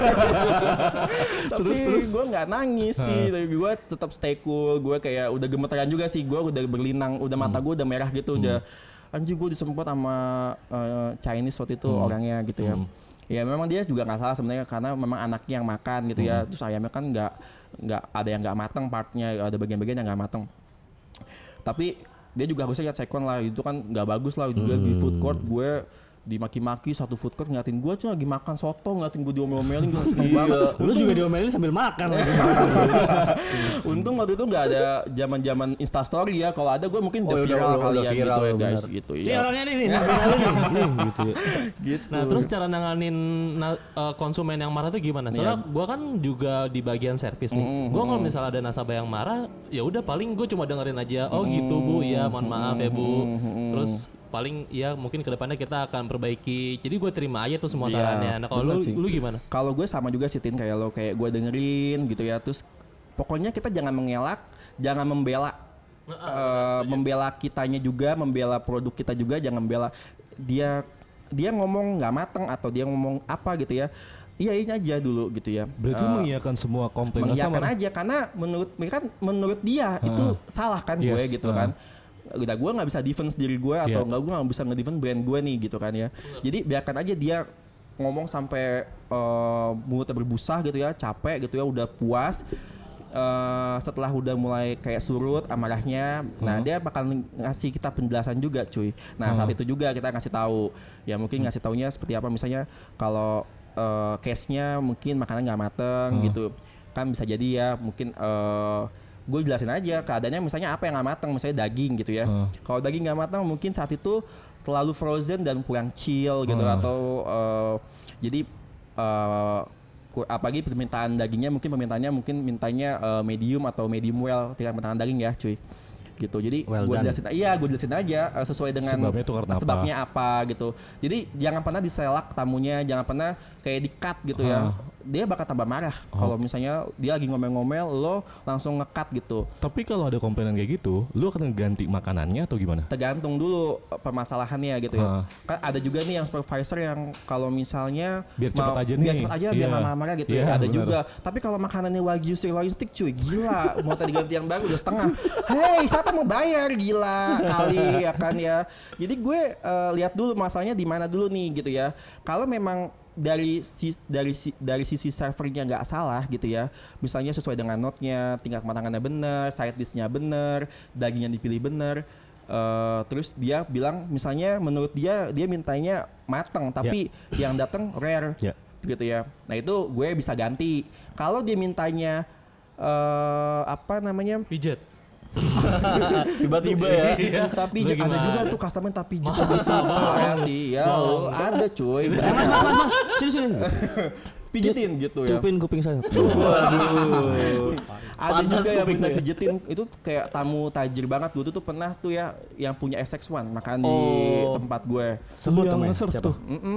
Tapi gue nggak nangis sih, tapi gue tetap stay cool. Gue kayak udah gemeteran juga sih, gue udah berlinang, udah mata gue udah merah gitu, udah anjing gue disempot sama Chinese waktu itu orangnya gitu ya. Ya memang dia juga nggak salah sebenarnya karena memang anaknya yang makan gitu ya. Terus ayamnya kan nggak ada yang nggak mateng partnya, ada bagian-bagian yang nggak mateng. Tapi dia juga harusnya lihat second lah, itu kan nggak bagus lah juga di food court gue dimaki-maki satu food court ngeliatin gue tuh lagi makan soto, ngeliatin gue diomel-omelin gue seneng banget.
Lu juga diomelin sambil makan lagi.
Untung waktu itu nggak ada zaman instastory ya. Kalau ada gue mungkin udah
Oh,
viral
udah
kali ya
viral,
gitu ya guys
benar.
gitu
Ini
ya.
orangnya nih sambil lalu nih. Gitu ya.
Gitu.
Nah terus cara nanganin konsumen yang marah tuh gimana? Soalnya gue kan juga di bagian servis nih. Gue kalau misalnya ada nasabah yang marah, ya udah paling gue cuma dengerin aja. Oh gitu bu, ya mohon maaf ya bu. Terus paling ya mungkin kedepannya kita akan perbaiki. Jadi gue terima aja tuh semua
Iya,
sarannya. Nah kalau
bener sih.
lu gimana?
Kalau gue sama juga sih Tin, kayak lo, kayak gue dengerin gitu ya. Terus pokoknya kita jangan mengelak, jangan membela. Membela kitanya juga, membela produk kita juga, jangan membela dia ngomong nggak mateng atau dia ngomong apa gitu ya. Iyain aja dulu gitu ya.
Berarti mengiyakan semua komplain
Mengiyakan
customer.
aja karena menurut dia itu salah kan gue
Yes,
gitu kan. udah gue nggak bisa defense diri gue atau gue nggak bisa ngedefense brand gue nih gitu kan ya. Jadi biarkan aja dia ngomong sampai mulutnya berbusa gitu ya, capek gitu ya, udah puas. Setelah udah mulai kayak surut amarahnya, nah dia bakal ngasih kita penjelasan juga cuy. Nah saat itu juga kita ngasih tahu, ya mungkin ngasih taunya seperti apa, misalnya kalau case-nya mungkin makanan nggak mateng gitu kan, bisa jadi ya mungkin gue jelasin aja keadaannya, misalnya apa yang nggak mateng, misalnya daging gitu ya. Kalau daging nggak mateng mungkin saat itu terlalu frozen dan kurang chill gitu, atau jadi apalagi permintaan dagingnya mungkin mintanya medium atau medium well, tingkat permintaan daging ya cuy gitu. Jadi gue jelasin aja sesuai dengan sebabnya apa gitu. Jadi jangan pernah diselak tamunya, jangan pernah kayak di-cut gitu ya. Dia bakal tambah marah kalau misalnya dia lagi ngomel-ngomel lo langsung nge-cut gitu.
Tapi kalau ada komplainan kayak gitu, lu akan ganti makanannya atau gimana?
Tergantung dulu permasalahannya gitu ya. Kan ada juga nih yang supervisor yang kalau misalnya
biar cepat aja
biar nggak marah gitu ya. Ada juga. Tapi kalau makanannya wagyu sirloin steak cuy, gila, mau tadi ganti yang baru udah setengah. Hey, siapa mau bayar, gila kali ya kan ya. Jadi gue lihat dulu masalahnya di mana dulu nih gitu ya. Kalau memang dari sisi servernya nggak salah gitu ya, misalnya sesuai dengan note-nya, tingkat kematangannya bener, side dish-nya bener, daging yang dipilih bener, terus dia bilang misalnya menurut dia mintanya mateng tapi yang datang rare gitu ya. Nah itu gue bisa ganti. Kalau dia mintanya
pijet
tiba-tiba ya.
Tapi ada juga tuh customer tapi pijit parah sih. Ya ada cuy.
Mas, sini.
Pijitin gitu ya.
Tupin kuping saya.
Waduh. Ada juga yang minta pijitin, itu kayak tamu tajir banget. Gue tuh pernah tuh ya yang punya SX1 makan di tempat gue.
Sebut yang nge-serve tuh.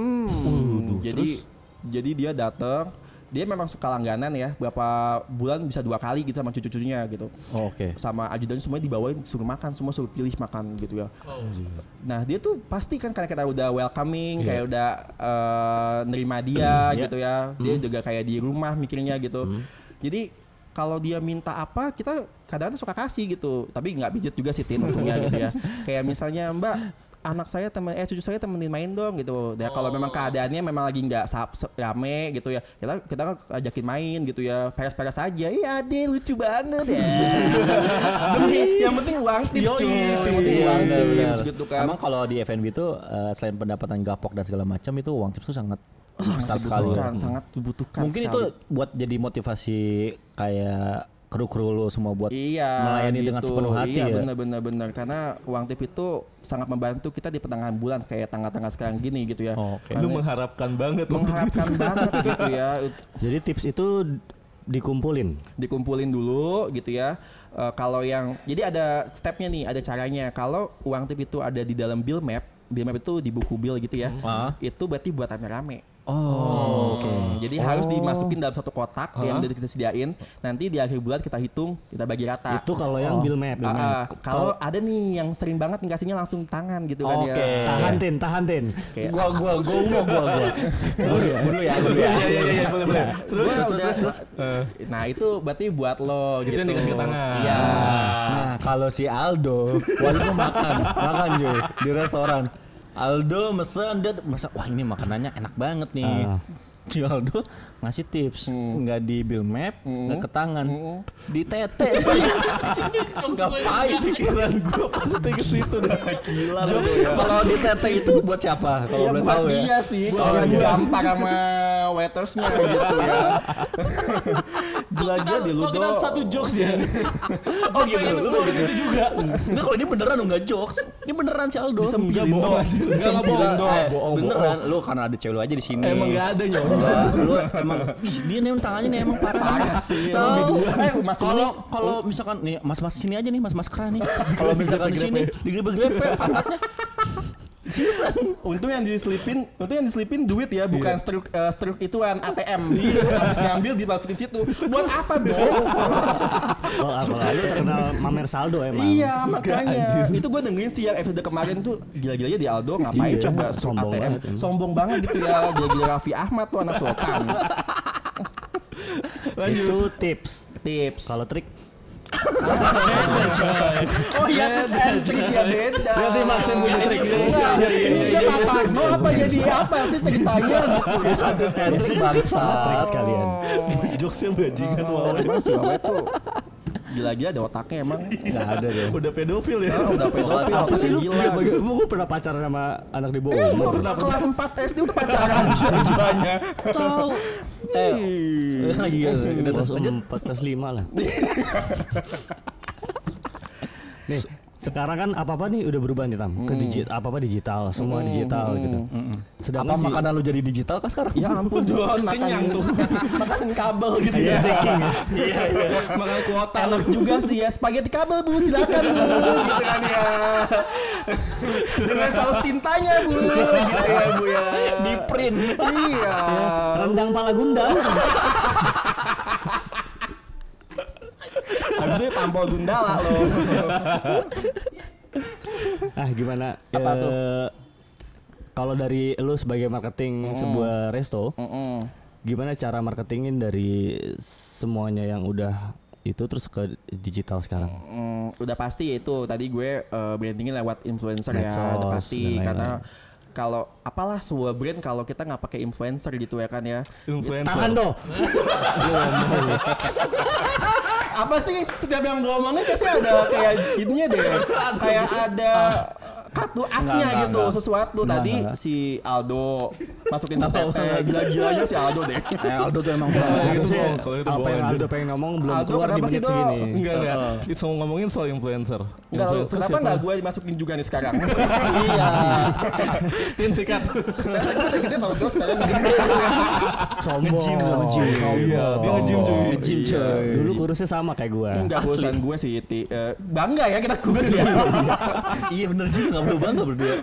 Jadi dia datang, dia memang suka langganan ya, berapa bulan bisa 2 kali gitu sama cucu-cucunya gitu. Sama ajudannya semuanya dibawain, suruh makan, semua suruh pilih makan gitu ya. Nah dia tuh pasti kan karena kita udah welcoming, kayak udah nerima dia gitu ya. Dia juga kayak di rumah mikirnya gitu. Jadi kalau dia minta apa, kita kadang-kadang suka kasih gitu. Tapi nggak pijit juga sih Tin untungnya gitu ya. Kayak misalnya Mbak, anak saya cucu saya temenin main dong gitu. Dan kalau memang keadaannya memang lagi nggak rame gitu ya, kita ajakin main gitu ya, peres-peres aja. Iya deh, lucu banget ya. Demi yang penting uang tips cuy. Yang penting uang tips gitu kan.
Emang kalau di F&B itu selain pendapatan gapok dan segala macam, itu uang tips tuh sangat
sangat dibutuhkan.
Mungkin sekali. Itu buat jadi motivasi kayak kru-kru lo semua buat melayani
gitu.
Dengan sepenuh hati ya.
Iya benar. Karena uang tip itu sangat membantu kita di pertengahan bulan kayak tanggal-tanggal sekarang gini gitu ya.
Lu mengharapkan banget
gitu ya.
Jadi tips itu dikumpulin
dulu gitu ya. Kalau yang jadi ada stepnya nih, ada caranya. Kalau uang tip itu ada di dalam bill map itu di buku bill gitu ya. Itu berarti buat rame-rame. Jadi harus dimasukin dalam satu kotak yang udah kita sediain. Nanti di akhir bulan kita hitung, kita bagi rata.
Itu kalau yang bill map.
Kalau ada nih yang sering banget ngasihnya langsung tangan gitu kan ya.
Tahan tin.
Gua. Dulu ya.
Iya, boleh. Terus. Nah, itu berarti buat lo gitu.
Itu yang dikasih tangan.
Iya.
Nah, kalau si Aldo, waktu itu makan cuy di restoran. Aldo mesen, dia masak, wah ini makanannya enak banget nih. Si Aldo ngasih tips, nggak di bill map, nggak ke tangan, di tete. Ngapain pikiran gue pasti ke situ dah. Gila lu. Kalau di tete itu buat siapa? Kalau boleh tahu ya.
Iya sih, kalau gampang sama waitersnya gitu ya. Gila-gila di lu
kita satu jokes ya.
Gitu. Lu gitu juga. Enggak, kalau ini beneran enggak jokes. Ini beneran si Aldo.
Disempilin doang.
Disempilin doang. Beneran. Lu karena ada cewek lu aja di sini.
Emang enggak ada nyoba.
Lu emang dia nih tangannya nih emang parah
sih.
Kalau misalkan nih mas-mas sini aja nih, mas-mas kera nih. Kalau misalkan di sini digrepe-grepe pantatnya. Susah.
Untung yang diselipin duit ya, bukan struk ituan ATM. Habis ngambil dimasukin situ. Buat apa dong?
Lalu terkenal mamer saldo emang.
Iya, makanya. Itu gue dengerin sih yang episode kemarin tuh, gila-gilanya di Aldo ngapain coba struk ATM. Sombong banget gitu ya. Gila-gila Raffi Ahmad tuh anak sultan.
Itu tips.
Tips.
Kalau trik
Oh iya, entry dia beda.
Berarti Maxim punya trik
Ini dia Matarno apa jadi apa sih ceritanya gitu.
Entry bangsa.
trik sekalian.
Jokesnya bajingan Wawe.
Emang si Wawe tuh gila-gila ada otaknya emang.
Enggak ada deh.
Udah pedofil ya.
Udah pedofil,
Apa sih lu?
gila.
Gue pernah pacaran sama anak di bawah
Lu
umur.
kelas 4 SD udah pacaran gilanya.
Tahu. Iya, udah
Kelas
terus
4, kelas 5 lah. Nih, sekarang kan apa-apa nih udah berubah nih Tam. Ke apa-apa digital, semua digital gitu. Sedangkan
Apa makanan lu jadi digital kah sekarang?
Ya ampun Jon, kenyang tuh. Makan kabel gitu ya. Iya.
Makan kuota.
Enak juga sih ya, spaghetti kabel Bu, silakan Bu, gitu kan ya. Dengan saus tintanya Bu, gitu ya Bu ya.
Di print.
Iya.
rendang pala gundal.
Habisnya tampol gundala loh.
Ah gimana?
Apa tuh?
Kalau dari lu sebagai marketing sebuah resto, gimana cara marketingin dari semuanya yang udah itu terus ke digital sekarang?
Udah pasti itu tadi gue brandingin lewat influencer ya,
Medsos
udah pasti
dan lain-lain.
karena kalau apalah sebuah brand kalau kita nggak pakai influencer gitu ya kan ya.
Influencer.
Tahan dong.
Apa sih setiap yang gue omongin pasti ada kayak ininya deh, kayak ada kartu asnya gitu sesuatu. Tadi si Aldo masukin TTT, gila-gilanya si Aldo deh.
Aldo tuh emang
Harusnya
kalau itu
apa
bohong,
yang
anjir.
Aldo pengen ngomong belum
Aldo,
keluar di
kenapa sih,
menit
Dok?
segini.
Enggak. Itu ngomongin soal influencer.
Enggak,
Influencer
kenapa
siapa?
nggak gue dimasukin juga nih sekarang?
Iya.
Tin sikat.
Kita tahu terus sekarang.
Sombong.
Iya, dia nge-gym cuy.
Nge-gym, cuy.
Dulu kurusnya sama kayak gua.
Enggak urusan gue sih, bangga ya kita kurus ya.
Iya bener juga, nggak perlu bangga berdua.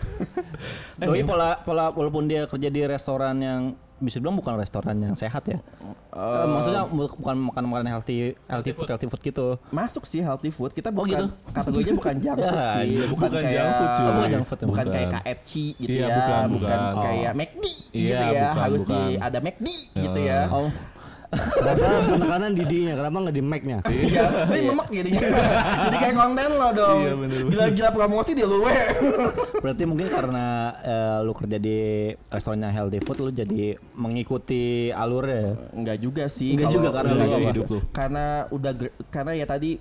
Doi pola walaupun dia kerja di restoran yang bisa bilang bukan restoran yang sehat ya. Maksudnya bukan makan healthy food gitu.
Masuk sih healthy food. Kita bukan
gitu?
kategorinya bukan junk food
Ya,
sih.
iya,
Bukan
bukan
kayak
junk food, cuy.
Bukan junk food, ya,
bukan
bukan.
kayak KFC gitu
Iya,
ya.
bukan.
Kayak McD
Iya,
gitu ya.
bukan,
Harus
bukan.
ada McD gitu ya.
Oh,
Kenapa penekanan di D-nya? Kenapa nggak di Mac-nya?
Iya, ini memek jadinya. Jadi kayak konten lo dong.
Iya, bener.
Gila-gila promosi dia lu we.
berarti mungkin karena lu kerja di restorannya healthy food, lu jadi mengikuti alurnya.
Enggak juga sih.
Enggak
kalau
juga, karena
udah
lu apa?
hidup lu.
Karena udah karena ya tadi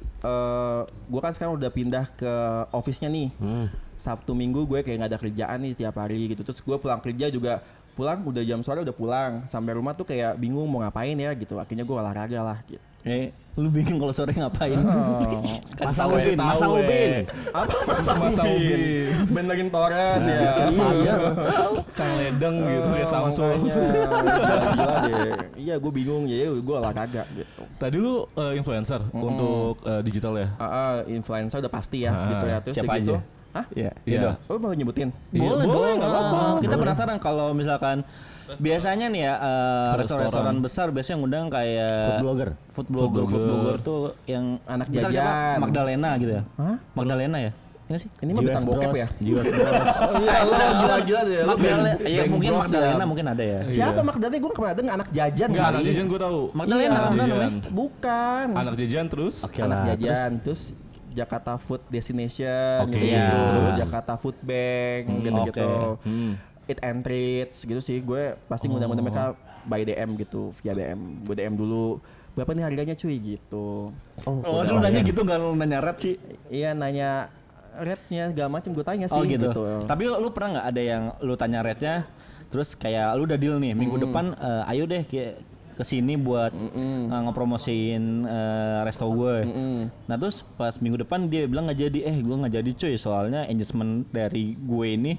gua kan sekarang udah pindah ke office-nya nih. Sabtu Minggu gue kayak nggak ada kerjaan nih tiap hari gitu. Terus gue pulang kerja juga pulang udah jam sore udah pulang. Sampai rumah tuh kayak bingung mau ngapain ya gitu. Akhirnya gue olahraga lah gitu.
Lu bingung kalau sore ngapain?
Masa Ubin.
Apa masa Ubin? Benerin toren ya.
Iya.
Kang Ledeng gitu kayak Samsung.
Gila deh. Iya gue bingung ya gue olahraga gitu.
Tadi lu influencer untuk digital ya?
Influencer udah pasti ya gitu ya. Terus
Siapa
udah gitu.
aja?
Hah?
Iya.
Iya.
Oh mau nyebutin?
Boleh dong, nggak apa-apa. Kita
Boleh.
penasaran kalau misalkan biasanya nih ya restoran besar biasanya ngundang kayak food blogger tuh yang
Anak
misal siapa?
jajan.
Magdalena gitu ya.
Hah?
Magdalena ya? Ini sih.
Ini mah bintang bokep ya?
Jiwas Bros.
Oh iya lo gila-gila deh. Lo
Magdalena,
band-
iya
band
mungkin
bros
Magdalena
ya.
mungkin ada ya.
Siapa Magdalena? Gue pernah dengar anak jajan
Enggak, anak
kali.
jajan gue tahu.
Magdalena,
Iya,
anak
jajan.
Bukan.
Anak jajan terus.
Oke
Anak
lah.
jajan terus Jakarta Food Destination
Oke.
gitu,
Iya.
terus Jakarta Food Bank gitu-gitu.
oke.
Eat and Treats gitu sih. Gue pasti ngundang-ngundang mereka by DM gitu, via DM. Gue DM dulu. Berapa nih harganya cuy gitu.
Oh, lu nanya gitu nggak lu nanya red sih?
Iya nanya rate-nya segala macam gue tanya sih
Oh gitu.
gitu.
Tapi lu pernah nggak ada yang lu tanya rate-nya, terus kayak lu udah deal nih minggu depan, ayo deh kesini buat ngepromosiin resto gue. Nah terus pas minggu depan dia bilang nggak jadi, gue nggak jadi cuy, soalnya engagement dari gue ini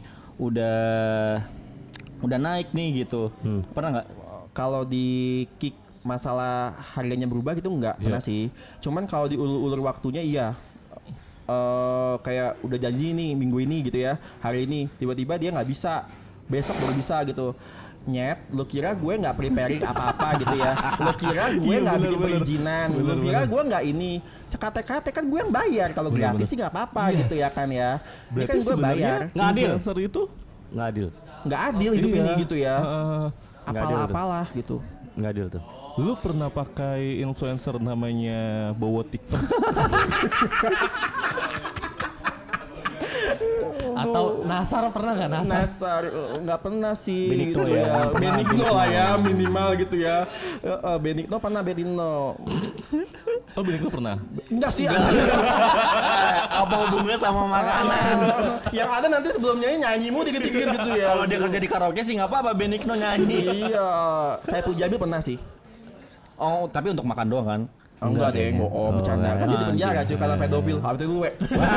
udah naik nih gitu. Pernah nggak?
Kalau di kick masalah harganya berubah gitu nggak pernah sih. Cuman kalau diulur-ulur waktunya iya. Kayak udah janji nih minggu ini gitu ya, hari ini tiba-tiba dia nggak bisa, besok baru bisa gitu. Nyet, lu kira gue nggak preparing apa-apa gitu ya? Lu kira gue nggak bikin perizinan? Lu kira gue nggak ini? Sekate-kate kan gue yang bayar, kalau gratis sih nggak apa-apa gitu ya kan ya? Ini kan gue bayar.
Nggak adil.
Influencer itu
Nggak adil.
Nggak adil hidup
Iya.
ini gitu ya.
Nggak adil tuh.
Apalah gitu.
Nggak adil tuh.
Lu pernah pakai influencer namanya Bowo TikTok?
Atau Nasar pernah nggak Nasar?
Nasar nggak pernah sih.
Benigno
gitu
ya.
Benigno lah ya minimal gitu ya. Benigno pernah Benigno.
Oh, Benigno pernah.
Enggak sih.
Apa hubungannya sama makanan?
Yang ada nanti sebelumnya nyanyimu dikit-dikit gitu ya.
Kalau dia kerja di karaoke sih nggak apa-apa, Benigno nyanyi.
Iya. Saya Pujabi pernah sih.
Oh, tapi untuk makan doang kan?
Enggak deh, bohong bercanda. Kan dia di penjara cuy karena pedofil. Habis itu gue.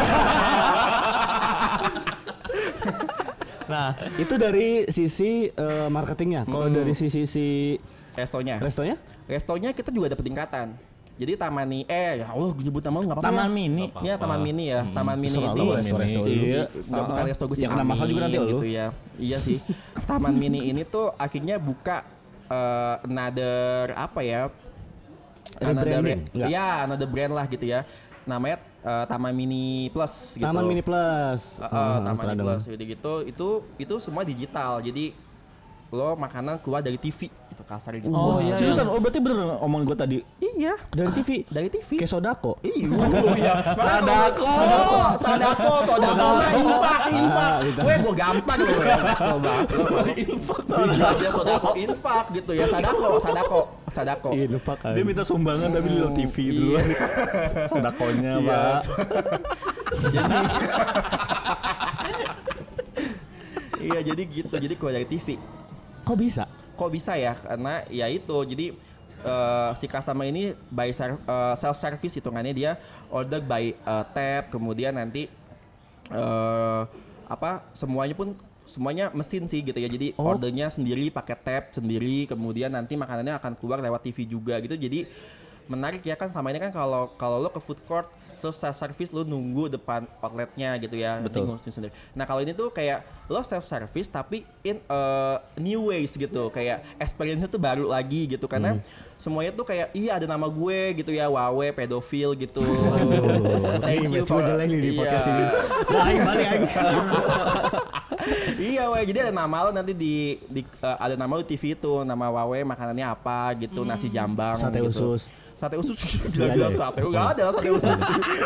Nah,
Itu dari sisi marketingnya. Kalau dari sisi
Restonya.
restonya
Kita juga ada peningkatan. Jadi Taman Mini, ya Allah gue nyebut nama lu nggak apa-apa.
Taman
ya?
Mini.
Iya Taman Mini ya. Taman Mini
Terserah
ini.
lu, resto
Iya.
Nggak bukan resto gue sih.
Yang kena masalah juga nanti
gitu
lu.
ya. Iya sih. Taman Mini ini tuh akhirnya buka another apa ya?
Rebranding, enggak?
Iya, another brand lah gitu ya. Namanya Taman Mini Plus gitu.
Taman Mini Plus.
Taman
pernah
Mini
dengar.
Plus gitu. Itu semua digital. Jadi lo makanan keluar dari TV itu kasar gitu.
oh iya.
Seriusan, oh berarti bener omongan gue tadi.
Iya.
Dari TV.
Dari TV.
Kayak Sodako.
Iya. Sadako mah infak. Gue gampang loh. Kesel banget. Sodako infak gitu ya. Sadako.
Iya, lupa kan.
Dia minta sumbangan tapi di TV dulu. Sodakonya, Pak.
Iya, jadi gitu. Jadi keluar dari TV. Kok bisa ya? Karena ya itu. Jadi si customer ini by self service hitungannya, dia order by tab, kemudian nanti semuanya mesin sih gitu ya. Jadi ordernya sendiri pakai tab sendiri, kemudian nanti makanannya akan keluar lewat TV juga gitu. Jadi menarik ya kan, selama ini kan kalau lo ke food court self service lo nunggu depan outletnya gitu ya.
Betul.
Nanti ngurusin sendiri. Nah kalau ini tuh kayak lo self service tapi in new ways gitu, kayak experience-nya tuh baru lagi gitu, karena semuanya tuh kayak iya ada nama gue gitu ya, Wawe pedofil gitu. Thank you
Cuma jelek nih di podcast ini.
balik lagi. Iya, Wawe. Jadi ada nama lo nanti ada nama lo TV itu, nama Wawe makanannya apa gitu, nasi jambang
Sate
gitu.
usus.
Sate usus bilang sate. Enggak ada sate usus.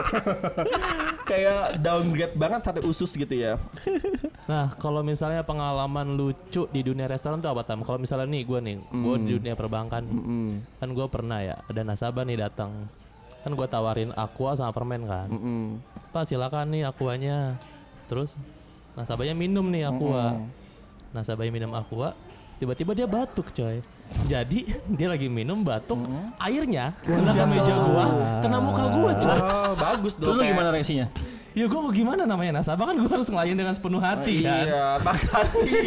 Kayak downgrade banget sate usus gitu ya.
Nah, kalau misalnya pengalaman lucu di dunia restoran tuh apa, Tam? Kalau misalnya nih gue di dunia perbankan, kan gue pernah ya ada nasabah nih datang, kan gue tawarin aqua sama permen kan, Pak silakan nih aquanya, terus nasabahnya minum nih aqua, nasabahnya minum aqua, tiba-tiba dia batuk coy. Jadi dia lagi minum batuk, airnya kena ke meja gua, kena muka gua coy.
Oh, bagus dong.
Terus lu gimana reaksinya?
Ya gue mau gimana, namanya nasabah kan gue harus ngelayan dengan sepenuh hati kan.
Iya, makasih.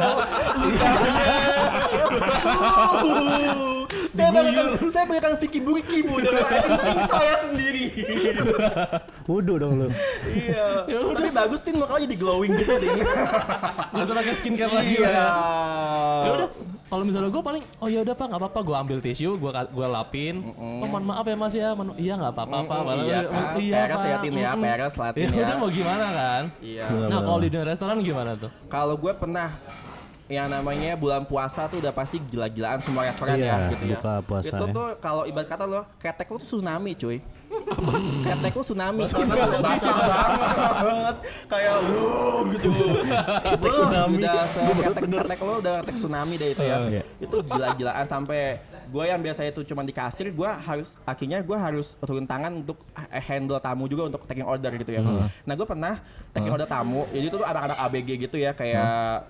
Saya berikan Vicky Buriki bu dengan kencing saya sendiri.
Wudu dong lu.
Iya. Tapi bagus Tin, makanya jadi glowing gitu deh.
Gak usah pakai skincare lagi.
Iya.
Ya udah, kalau misalnya gue paling, oh ya udah Pak, nggak apa-apa, gue ambil tisu, gue lapin. Oh mohon maaf ya Mas ya, iya nggak apa-apa Pak.
Iya kan, peres ya Tin ya, peres latin
Ya
ya.
udah mau gimana kan?
Iya.
Nah kalau di dunia restoran gimana tuh?
Kalau gue pernah yang namanya bulan puasa tuh udah pasti gila-gilaan semua restoran
Iya,
ya gitu ya.
buka puasa
Itu
ya.
tuh kalau ibarat kata lo, ketek lo tuh tsunami cuy. Ketek lo tsunami karena basah banget. Kayak gitu. Ketek tsunami. Ketek lo udah ketek tsunami deh itu ya. Itu gila-gilaan sampai gue yang biasanya itu cuma di kasir, gue harus turun tangan untuk handle tamu juga untuk taking order gitu ya. Nah gue pernah taking order tamu, jadi itu tuh anak-anak ABG gitu ya, kayak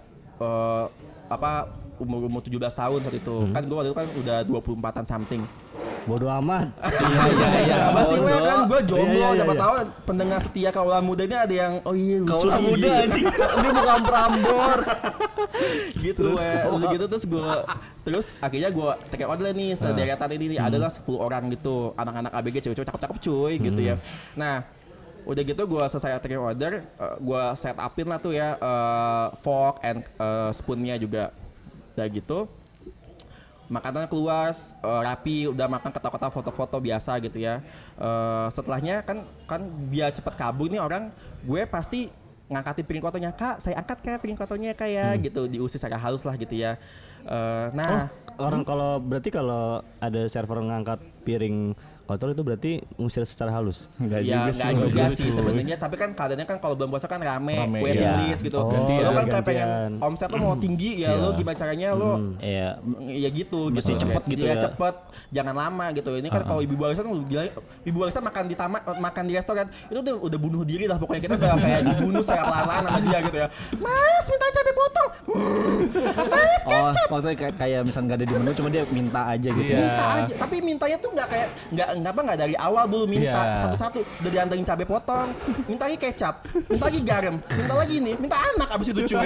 umur 17 tahun saat itu. Kan gue waktu itu kan udah 24-an something.
Bodoh amat.
Iya. Masih gue kan gue jomblo,
Iya.
siapa tahu pendengar setia Kaula Muda ini ada yang lucu.
Kaula Muda anjing. Ini bukan Prambors.
Gitu gitu terus akhirnya gue take order nih sederetan ini adalah 10 orang gitu, anak-anak ABG cewek-cewek cakep-cakep cuy gitu ya. Nah udah gitu gue selesai take order, gue set upin lah tuh ya fork and spoonnya juga. Udah gitu makanan keluar rapi, udah makan ketawa-ketawa foto-foto biasa gitu ya. Setelahnya kan biar cepet kabur nih orang, gue pasti ngangkatin piring kotonya, Kak saya angkat Kak piring kotonya kayak gitu, diusir secara halus lah gitu ya.
orang kalau berarti kalau ada server ngangkat piring kotor itu berarti ngusir secara halus.
Ya nggak juga sih sebenarnya, tapi kan keadaannya kan kalau bulan puasa kan rame waiting list gitu. Lo kan kayak pengen omset lo mau tinggi ya, lo gimana caranya lo ya gitu
mesti cepet gitu ya.
Cepet, jangan lama gitu. Ini kan kalau ibu arisan lo bilang ibu arisan makan di restoran itu udah bunuh diri lah pokoknya, kita udah kayak dibunuh secara pelan-pelan sama dia gitu ya. Mas minta cabai potong, mas kecap.
Waktu kayak misalnya nggak ada di menu, cuma dia minta aja gitu.
Minta aja, tapi mintanya tuh nggak dari awal dulu minta satu-satu, udah diantarin cabai potong, minta lagi kecap, minta lagi garam, minta lagi ini, minta anak abis itu cuy.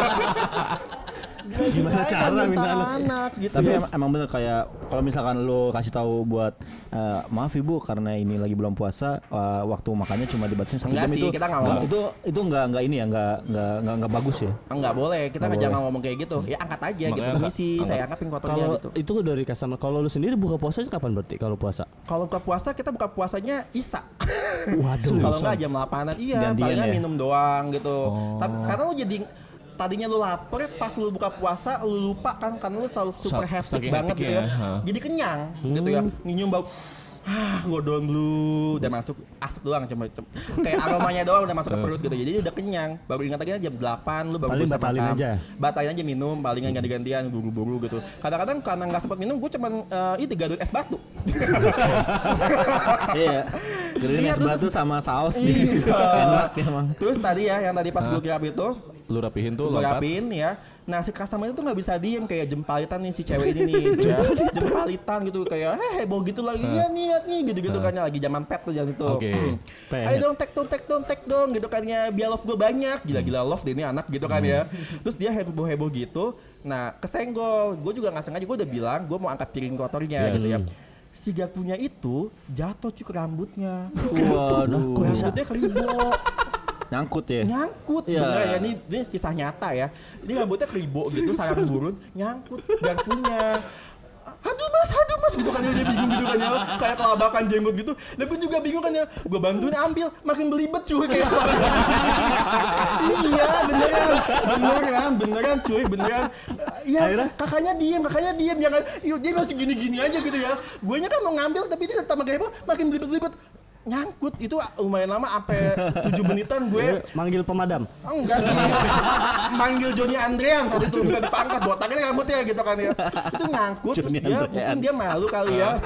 Gimana cara minta anak
gitu.
Tapi emang bener kayak kalau misalkan lo kasih tahu buat maaf ibu karena ini lagi bulan puasa, waktu makannya cuma dibatasin 1 jam
sih,
itu.
Kita nggak ngomong.
Itu nggak ini ya, nggak bagus ya.
Nggak boleh, kita jangan ngomong kayak gitu. Ya angkat aja gitu, komisi saya angkatin kotornya gitu.
Itu dari customer. Kalau lu sendiri buka puasa kapan berarti kalau puasa?
Kalau buka puasa kita buka puasanya Isya.
Waduh.
Kalau nggak jam 8-an palingan minum doang gitu. Tapi karena lu jadi tadinya lu lapar, pas lu buka puasa lu lupa kan, karena lu selalu super happy banget gitu ya. Jadi kenyang gitu ya. Nyium bau gue doang dulu udah masuk asap doang cuma kayak aromanya doang udah masuk ke perut gitu, jadi udah kenyang. Baru ingat lagi jam 8 lu baru bisa makan, batalin aja minum, palingan ganti-gantian buru-buru gitu. Kadang-kadang karena nggak sempat minum gue cuman gadut es batu.
Iya, gadut es batu sama saus nih. Enak emang.
Terus tadi ya yang tadi pas gue kirap itu
lu rapihin tuh,
lu rapin ya. Nah si customer itu nggak bisa diem, kayak jempalitan nih si cewek ini nih gitu ya. Jempalitan gitu kayak heboh gitu lagi ya nih gitu-gitu kan, lagi zaman pet tuh jangan itu. Ayo dong tag dong gitu kan ya, biar love gue banyak. Gila-gila love deh ini anak gitu kan ya. Terus dia heboh gitu. Nah kesenggol, gue juga nggak sengaja, gue udah bilang gue mau angkat piring kotornya gitu ya. Si garpunya itu jatuh cuy ke rambutnya.
Waduh.
Rambutnya keribok.
Nyangkut ya?
Nyangkut, bener ya, ini kisah nyata ya. Ini rambutnya keribok gitu, sarang burun, nyangkut garpunya. Aduh mas gitu kan ya, dia bingung gitu kan ya, kayak kelabakan jenggot gitu. Dan gue juga bingung kan ya, gue bantuin ambil, makin belibet cuy kayak selama. Iya beneran cuy, beneran. Iya kakaknya diem, jangan, dia masih gini-gini aja gitu ya. Guenya kan mau ngambil tapi dia tetap makin belibet. Nyangkut itu lumayan lama, sampai 7 menitan gue
manggil pemadam.
Enggak sih, manggil Johnny Andrean saat itu, minta dipangkas botaknya rambutnya gitu kan ya. Itu nyangkut terus mungkin dia malu kali ya.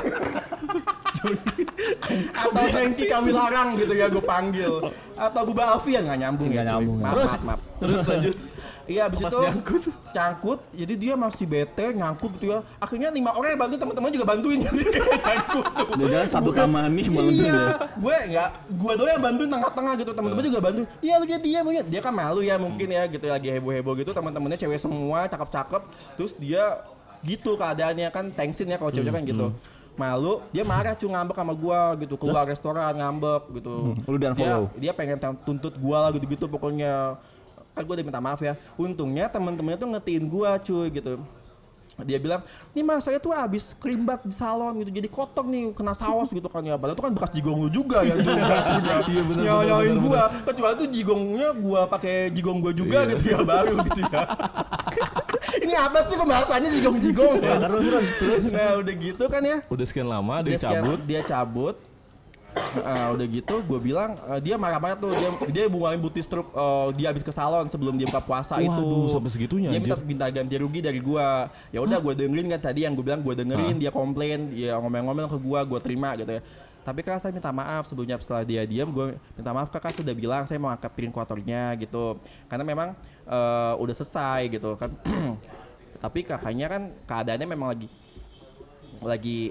Atau Frankie Kawilarang gitu ya gue panggil, atau Buba Alfian nggak nyambung. Terus lanjut. Iya abis itu nyangkut, jadi dia masih bete nyangkut gitu ya. Akhirnya 5 orang yang bantu, teman-teman juga bantuin jadi nyangkut tuh.
Jangan satu taman nih bantuin ya.
Gue doang yang bantuin tengah-tengah gitu, teman-teman juga bantuin. Iya lu dia kan malu ya mungkin ya gitu, lagi heboh-heboh gitu, teman-temannya cewek semua, cakep-cakep. Terus dia gitu keadaannya kan, thanksin ya kalau cewek kan gitu. Malu, dia marah cuy, ngambek sama gua gitu, keluar restoran ngambek gitu.
Lu dan follow.
Dia pengen tuntut gua lah gitu-gitu pokoknya. Kan gue udah minta maaf ya. Untungnya temen-temennya tuh ngetiin gue cuy gitu. Dia bilang, nih mas saya tuh abis kerimbat di salon gitu, jadi kotor nih, kena saus gitu kan ya. Padahal itu kan bekas jigong lu juga ya. Nyawain gue. Kecuali tuh jigongnya gue pakai jigong gue juga gitu ya, baru gitu ya. Ini apa sih pembahasannya jigong-jigong ya? Terus. Nah udah gitu kan ya.
Udah sekian lama dia cabut.
Udah gitu gue bilang, dia marah-marah tuh, dia buangin bukti struk dia habis ke salon sebelum dia buka puasa.
Waduh,
itu
sampai segitunya
dia minta ganti rugi dari gue. Ya udah gue dengerin kan tadi yang gue bilang, gue dengerin dia komplain, dia ngomel-ngomel ke gue terima gitu ya. Tapi kakak saya minta maaf sebelumnya, setelah dia diam gue minta maaf, kakak sudah bilang saya mau angkat piring kotornya gitu, karena memang udah selesai gitu kan. Tapi kakaknya kan keadaannya memang lagi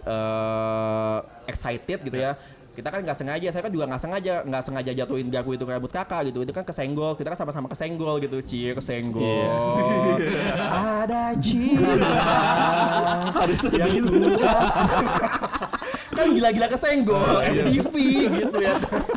excited gitu ya. Kita kan nggak sengaja, saya kan juga nggak sengaja jatuhin garpu itu ke rambut kakak gitu. Itu kan kesenggol, kita kan sama-sama kesenggol gitu. Kesenggol. Ada cinta harus yang kuras. Kan gila-gila kesenggol, FTV gitu ya.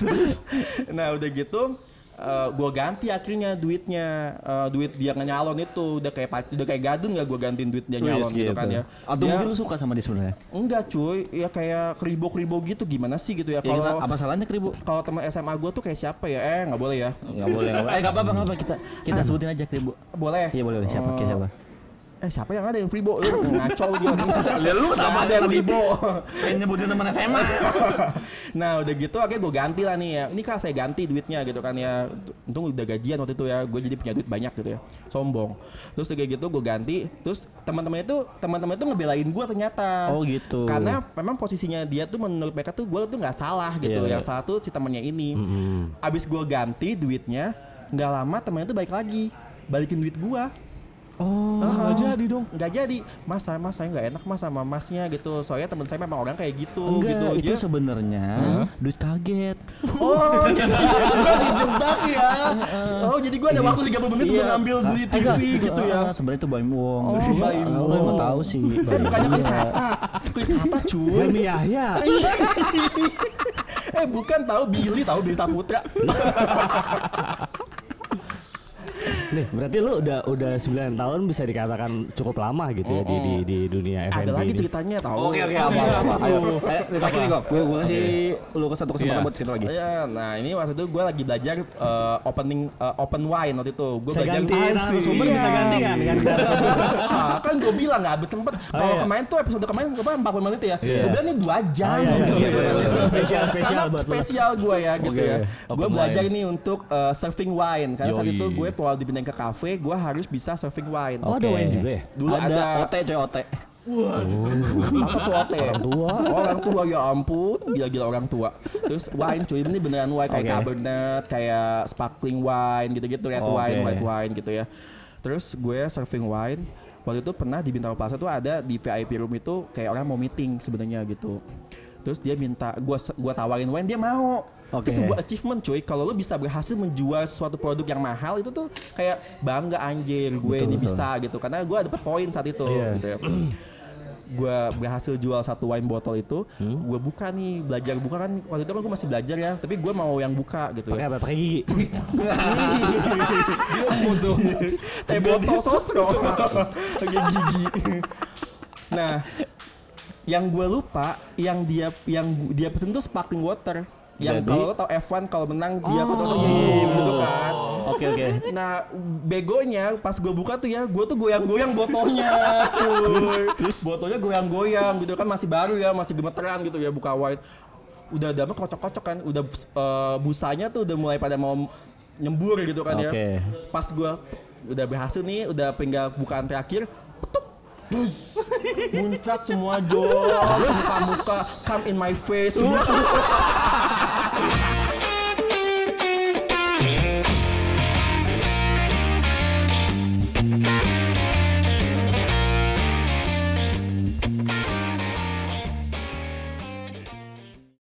Nah udah gitu, gue ganti akhirnya duitnya, duit dia nyalon itu udah kayak gadun nggak, gue gantiin duit dia nyalon gitu kan ya.
Atau mungkin lu suka sama dia sebenarnya?
Enggak cuy, ya kayak keribo gitu, gimana sih gitu ya. Kalau
apa salahnya keribo?
Kalau teman SMA gue tuh kayak siapa ya? Nggak boleh ya?
Nggak boleh. Nggak apa-apa, kita sebutin aja keribo.
Boleh?
Iya boleh. Siapa?
siapa yang ada yang Fribo? Ngaco dia. Lu kenapa ada yang Fribo?
Pengen nyebutin teman SMA.
Nah udah gitu akhirnya gue ganti lah nih ya. Ini kan saya ganti duitnya gitu kan ya. Untung udah gajian waktu itu ya. Gue jadi punya duit banyak gitu ya. Sombong. Terus kayak gitu gue ganti. Terus teman-teman itu ngebelain gue ternyata.
Oh gitu.
Karena memang posisinya dia tuh menurut mereka tuh gue tuh nggak salah gitu. Yang salah tuh si temannya ini. Abis gue ganti duitnya, nggak lama temannya tuh balik lagi, balikin duit gue.
Oh, nggak jadi dong.
Nggak jadi. Mas saya nggak enak mas sama masnya gitu. Soalnya teman saya memang orang kayak gitu.
Enggak,
gitu.
itu
Dia,
sebenarnya duit kaget.
oh, gue dijebak ya. Oh, jadi gue ada waktu 30 menit untuk ngambil beli TV gitu ya.
Sebenarnya itu Baim Wong.
Oh, Baim
Lo
Wong.
nggak tahu sih.
Bukannya Chris Hatta. Chris Hatta cuy.
Helmi Yahya.
Bukan tahu Billy Saputra.
Nih, berarti lu udah 9 tahun bisa dikatakan cukup lama gitu ya di dunia F&B
Ada lagi
ini.
ceritanya tahu.
Oke, apa. Ayo. Terakhir nih kok. Gue kasih lu satu kesempatan buat cerita lagi.
Iya, nah ini waktu itu gue lagi belajar open wine waktu itu. Gue
Bisa
belajar
ganti narasumber, bisa ganti kan?
Kan gue bilang nggak habis sempet. Kalau kemarin tuh episode kemarin gue 40 menit ya. Udah nih 2 jam.
Spesial
Karena
buat lu.
spesial gue ya gitu ya.
Open
Gue belajar
wine.
nih untuk serving wine. Karena saat
Yoi.
itu gue kalau dipindahin ke kafe, gue harus bisa serving wine.
Oh, ada wine juga ya?
Dulu ada
OT coy OT.
apa tuh OT?
Orang tua.
Orang tua ya ampun, gila-gila orang tua. Terus wine cuy, ini beneran wine kayak
Oke.
Cabernet, kayak sparkling wine gitu-gitu, red
Oke.
wine, white wine gitu ya. Terus gue serving wine. Waktu itu pernah di Bintaro Plaza tuh ada di VIP room itu kayak orang mau meeting sebenarnya gitu. Terus dia minta gua tawarin wine, dia mau.
Oke.
Itu sebuah achievement cuy. Kalau lu bisa berhasil menjual suatu produk yang mahal itu tuh kayak bangga anjir gue ini bisa gitu. Karena gue dapet poin saat itu gitu ya. Gue berhasil jual satu wine botol itu, gue buka nih, belajar buka kan waktu itu kan gue masih belajar ya, tapi gue mau yang buka gitu
Pakai
ya.
apa? Pakai gigi.
Teh botol sosro, pakai gigi. Nah, yang gue lupa, yang dia pesen tuh sparkling water. Yang
Jadi?
kalau lo tau F1 kalau menang dia foto gitu kan.
Oke.
Nah begonya pas gue buka tuh ya, gue tuh goyang-goyang botolnya cuy. Terus botolnya goyang-goyang gitu kan, masih baru ya, masih gemeteran gitu ya buka wine. Udah mah kocok-kocok kan, udah busanya tuh udah mulai pada mau nyembur gitu kan ya.
Oke.
Pas gue udah berhasil nih, udah tinggal bukaan terakhir, petuk. Bus, muncrat semua muka-muka, come in my face semua.